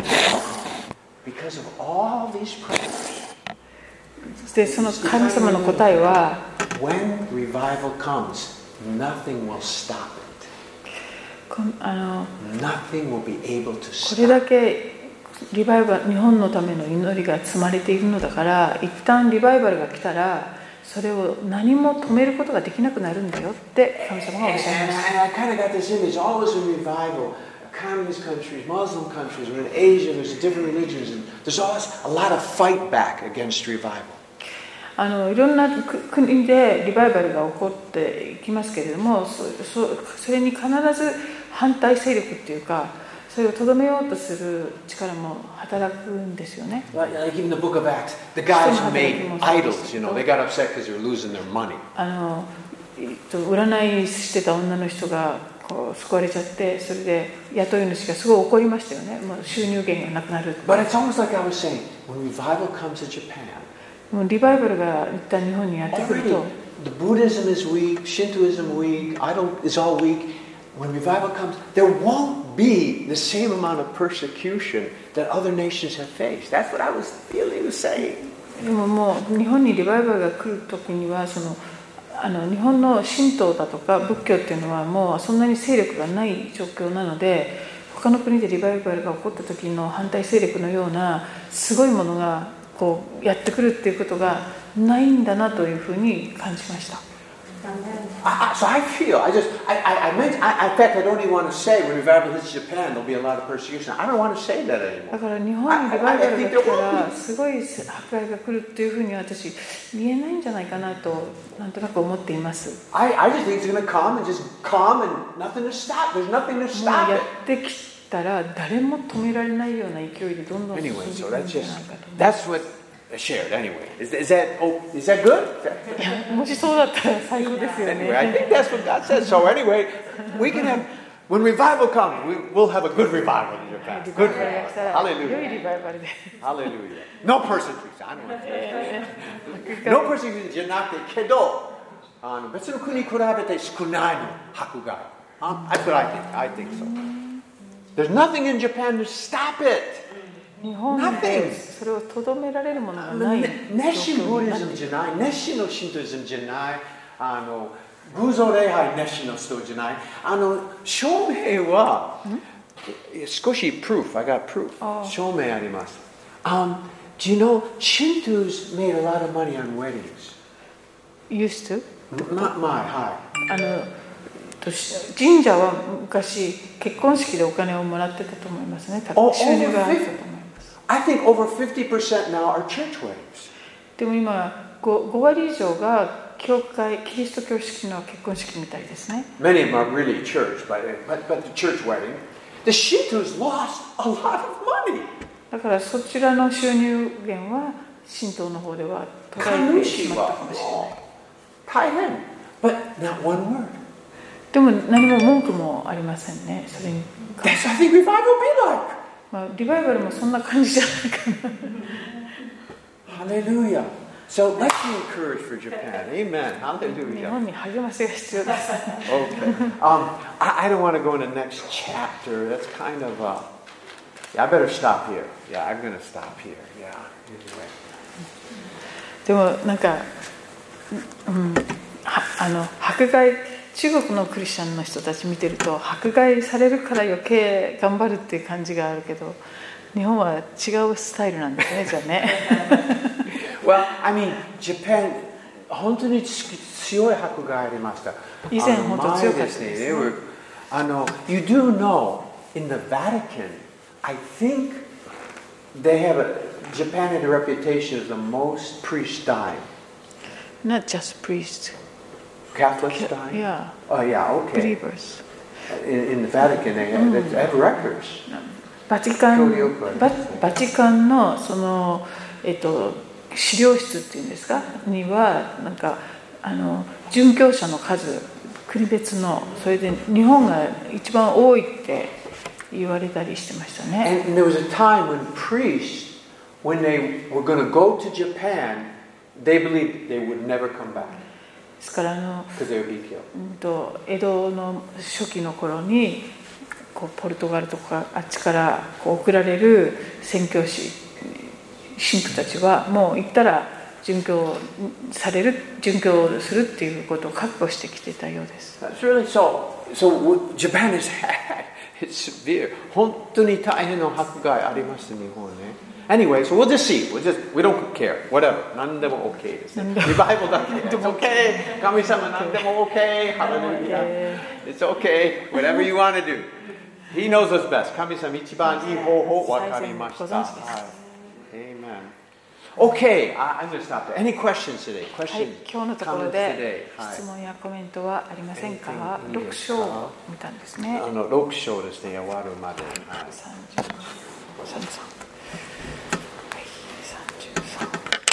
because of all these prayers, でその神様の答えは when revival comes, nothing will stop it. こ, あの nothing will be able to stop. これだけリバイバル日本のための祈りが積まれているのだから一旦リバイバルが来たらそれを何も止めることができなくなるんだよって神様がおっしゃいます。 And I kind of got this image, always in revival.Communist countries, Muslim countries, we're in Asia, there's different religions, and there's always a lot of fight back against revival. あのいろんな国でリバイバルが起こっていきますけれども、そ, そ, それに必ず反対勢力っていうか、それをとどめようとする力も働くんですよね。 Like even the book of Acts, the guys who made idols, you know, they got upset because they were losing their money. あの占いしてた女の人がこう救われちゃって、それで雇い主がすごい怒りましたよね。もう収入源がなくなる。 But it's almost like I was saying, when revival comes to Japan, もうリバイバルが一旦日本にやってくると、 the Buddhism is weak, Shintoism weak, idol is all weak. When revival comes, there won't be the same amount of persecution that other nations have faced. That's what I was feeling to say. でももう日本にリバイバルが来るときにはそのあの日本の神道だとか仏教っていうのはもうそんなに勢力がない状況なので、他の国でリバイバルが起こった時の反対勢力のようなすごいものがこうやってくるっていうことがないんだなというふうに感じました。 I, so I feel, I just, I, I, I meant, I, in fact, I don't even want to say when revival hits Japan, there'll be a lot of persecution. I don't want to say that anymore. だから日本にリバイバルが来たらすごい迫害が来るっていうふうに私言えないんじゃないかなとなんとなく思っています。 I, I just think it's going to come and just come and nothing to stop. There's nothing to もう stop や it. ってきたら誰も止められないような勢いでどんどん進んでい Anyway, く so ん that's じゃ just, ないかと。 that's what I shared anyway. Is, is that, oh, is that good? Is that, いやもしそうだったら最高ですよ anyway, I ね。 think that's what God says. So anyway, we can have, when revival comes, we, we'll have a good revival in Japan. リバ Good イバルが来たら revival. 良い Hallelujah. リバイバルで。 Hallelujah. No persecution. I don't know. No persecution じゃなくてけど、あの別の国に比べて少ないの迫害。Um, that's what I think. I think so. There's nothing in Japan to stop it. 日本でそれをとどめられるものがない状熱心況ブになっている。 リズムじゃない、熱心の神道イズムじゃない、あの偶像礼拝熱心の人じゃない、あの証明は少し proof, I got proof. 証明あります。Um, do you know Shintos made a lot of money on weddings? Used to? ま、前、はあの神社は昔結婚式でお金をもらってたと思いますね。多分収入があったと思います。 I think over fifty percent now are church weddings. でも今 5, 5割以上が教会キリスト教式の結婚式みたいですね。 Many of them are really church, but, but, but the church wedding. The Shintos lost a lot of money. だからそちらの収入源は神道の方では途絶えてしまったかもしれない。 大変。But not one word. でも何も文句もありませんね。それに。 That's I think revival will be like. まあ、リバイバルもそんな感じじゃないかな。 Hallelujah. So let's be encouraged for Japan. Amen. 日 Hallelujah. 本に励ましが必要です。 Okay. Um, I, I, I don't want to go in the next chapter. That's kind of, uh, yeah, I better stop here. Yeah, I'm going to stop here. Yeah, anyway. でもなんか、うん、あの迫害中国のクリスチャンの人たち見てると迫害されるから余計頑張るっていう感じがあるけど、日本は違うスタイルなんですね、じゃあね。 Well, I mean, Japan 本当に強い迫害ありました。 以前本当強かったですね。 あの、you do know in the Vatican, I think they have a Japan had a reputation as the most priests dying. Not just priests. Catholics dying? Yeah. Oh, yeah, okay. Believers. In, in the Vatican, they have, they have records. バチカン、バ、バチカンのその、えっと、資料室っていうんですかにはなんかあの殉教者の数国別のそれで日本が一番多いって言われたりしてましたね。 And there was a time when priests, when they were going to go to Japan, they believed they would never come back. ですからあの、 because they would be killed. うんと江戸の初期の頃にこうポルトガルとかあっちからこう送られる宣教師神父たちはもう行ったら殉教される殉教するっていうことを覚悟してきてたようです。 That's really so. So Japan has had it's severe. 本当に大変な迫害ありました日本ね。Anyway, so we'll just see. We'll just we don't care. Whatever. 何でも OK ですね。リバイバルだけ。It's okay. 神様何でも OK. Hallelujah. It's okay. Whatever you want to do. He knows us best. 神様一番いい方法わかりました。はい。Amen. Okay, I'm going to stop there. Any questions today? Questions? はい、今日のところで質問やコメントはありませんか？ろく章を見たんですね。 あのろく章ですね、終わるまで。はい、 さんじゅうさん。はい、さんじゅうさん。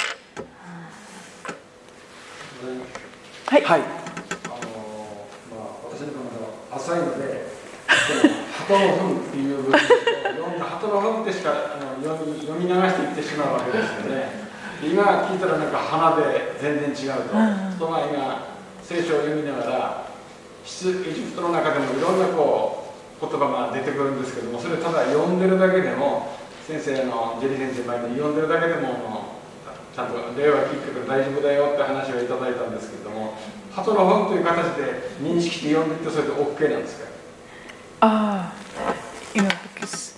はい。はい。 あのまあ私の方が浅いので、鳩の糞っていう部分を読んだ鳩の糞ってしかあの読み読み流していってしまうわけですよね。今聞いたらなんか花で全然違うと。人が今聖書を読みながら、出エジプトの中でもいろんなこう言葉が出てくるんですけども、それただ読んでるだけでも先生のジェリー先生前に読んでるだけでもちゃんと例は聞くけど大丈夫だよって話をいただいたんですけれども、鳩の糞という形で認識して読んでいってそれで OK なんですか？ ああ、you know, because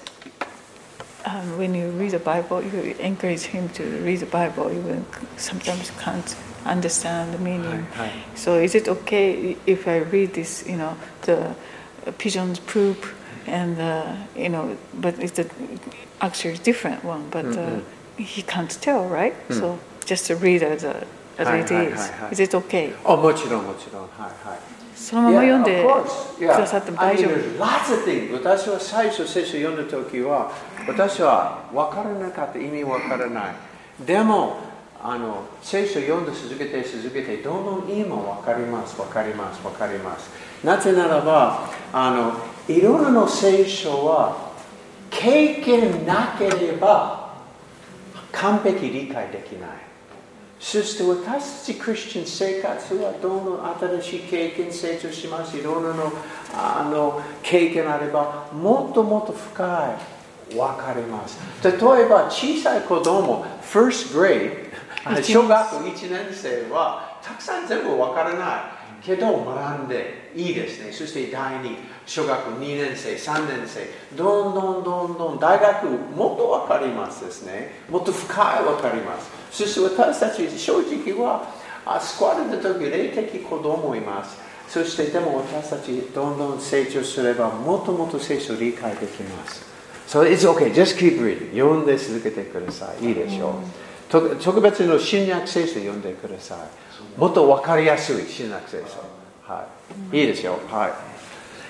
um, when you read the Bible, you encourage him to read the Bible. You will sometimes can't understand the meaning. Hi, hi. So is it okay if I read this? You know, the pigeon's poop, and uh, you know, but it's a, actually a different one. But uh, mm-hmm. he can't tell, right? Mm. So just to read as, a, as hi, it hi, is. Hi, hi. Is it okay? Oh, もちろんもちろん。はいはい。 そのまま読んでくださっても大丈夫。 Lots of things. 私は最初聖書を読んだ時は、私は分からなかった、意味分からない。でも、あの聖書を読んで続けて続けて、どんどん今分かります、分かります、分かります。なぜならば、あのいろいろな聖書は経験なければ完璧理解できない。そして私たちクリスチャン生活はどんどん新しい経験成長します。いろんなのあの経験あればもっともっと深い分かります。例えば小さい子供 first grade 小学校いちねん生はたくさん全部分からないけど学んでいいですね。そして第二小学校にねん生さんねん生どんどんどんどん大学もっと分かりますですね。もっと深い分かります。そして私たち正直は救われた時霊的子供います。そしてでも私たちどんどん成長すればもっともっと聖書を理解できます。So it's okay, just keep reading. 読んで続けてください。いいでしょう。特別の新約聖書を読んでください。もっと分かりやすい新約聖書。はい。いいですよ。はい。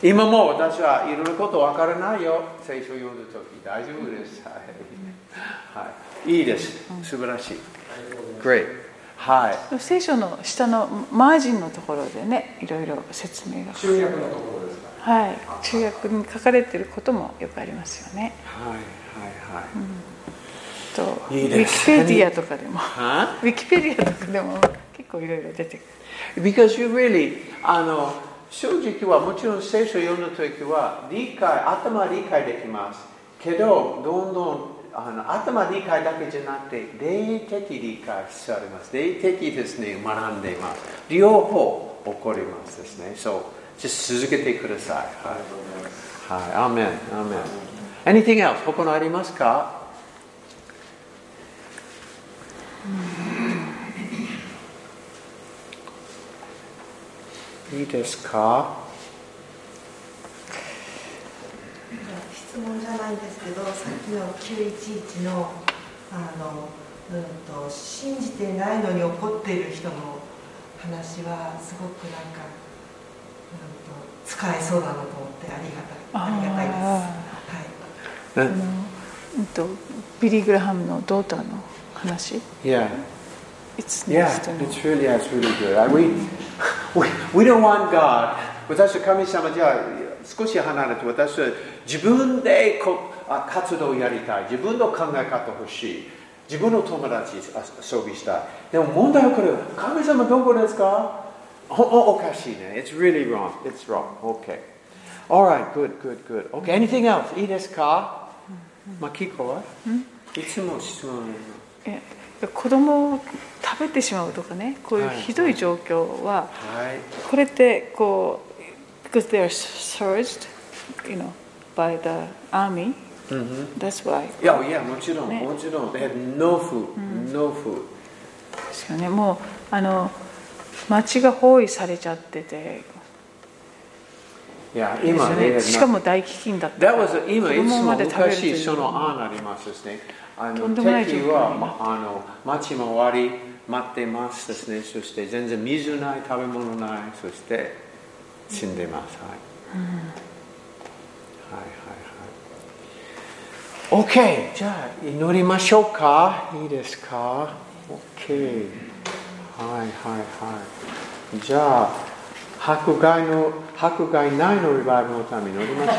今も私はいろいろなこと分からないよ。聖書を読んだ時大丈夫です。はい。はい、いいです。素晴らしい。Great。はい。 聖書の下のマージンのところでね、いろいろ説明が。 中訳のところですか。 はい。中訳に書かれていることもよくありますよね。 はいはいはい。 うんといいです。 ウィキペディアとかでも、ウィキペディアとかでも結構いろいろ出てくる。 Because you really あの正直はもちろん聖書を読んだときは理解、頭理解できます。けど、どんどんあの頭理解だけじゃなくて、霊的理解されます。霊的ですね、学んでいます。両方起こりますですね。そう、続けてください。はい。はい。アーメン。アーメン。Anything else? 他のありますか？いいですか？ 質問じゃないんですけど、さっきのきゅういちいちの、あの、うんと、信じてないのに怒っている人の話はすごくなんか、うんと、使えそうだなと思ってありがたい、ありがたいです。はい。 あの、うんと、ビリー・グラハムのドーターの話。 Yeah. It's Yeah, it's really, yeah, it's really good. We, we, we don't want God. 私は神様じゃあ少し離れて、私は自分でこ活動をやりたい。自分の考え方欲しい。自分の友達遊びしたい。でも問題はこれ、神様どこですか？お, お, おかしいね。It's really wrong. It's wrong. Okay. Alright, good, good, good. Okay, anything else? いいですか？マキコは？いつも質問。 え子供を食べてしまうとかね、こういうひどい状況は、はい、これってこう because they are surged, you know, by the army. Mm-hmm. That's why. いやいやもちろん、ね、もちろん they had no food, no food. ですよね。もうあの町が包囲されちゃってて。 いや今ね、 しかも大飢饉だったから。 That was 今いつも昔その案ありますですね。あの敵は、ま、あの町回り待ってますですね。そして全然水ない、食べ物ない、そして死んでます。はい。うん、はいはいはい。OK、じゃあ祈りましょうか。いいですか。OK。はいはいはい。じゃあ迫害の迫害ないのリバイバルのために祈りましょう。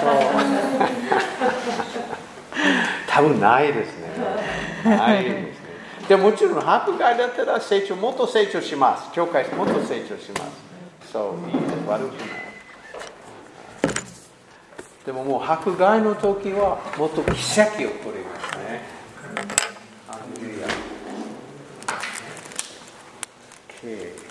多分ないですね。ないですね。でももちろん迫害だったら成長もっと成長します。教会もっと成長します。そういいです。悪くない。でももう迫害の時はもっと奇跡起こりますね。ハレルヤ。Okay.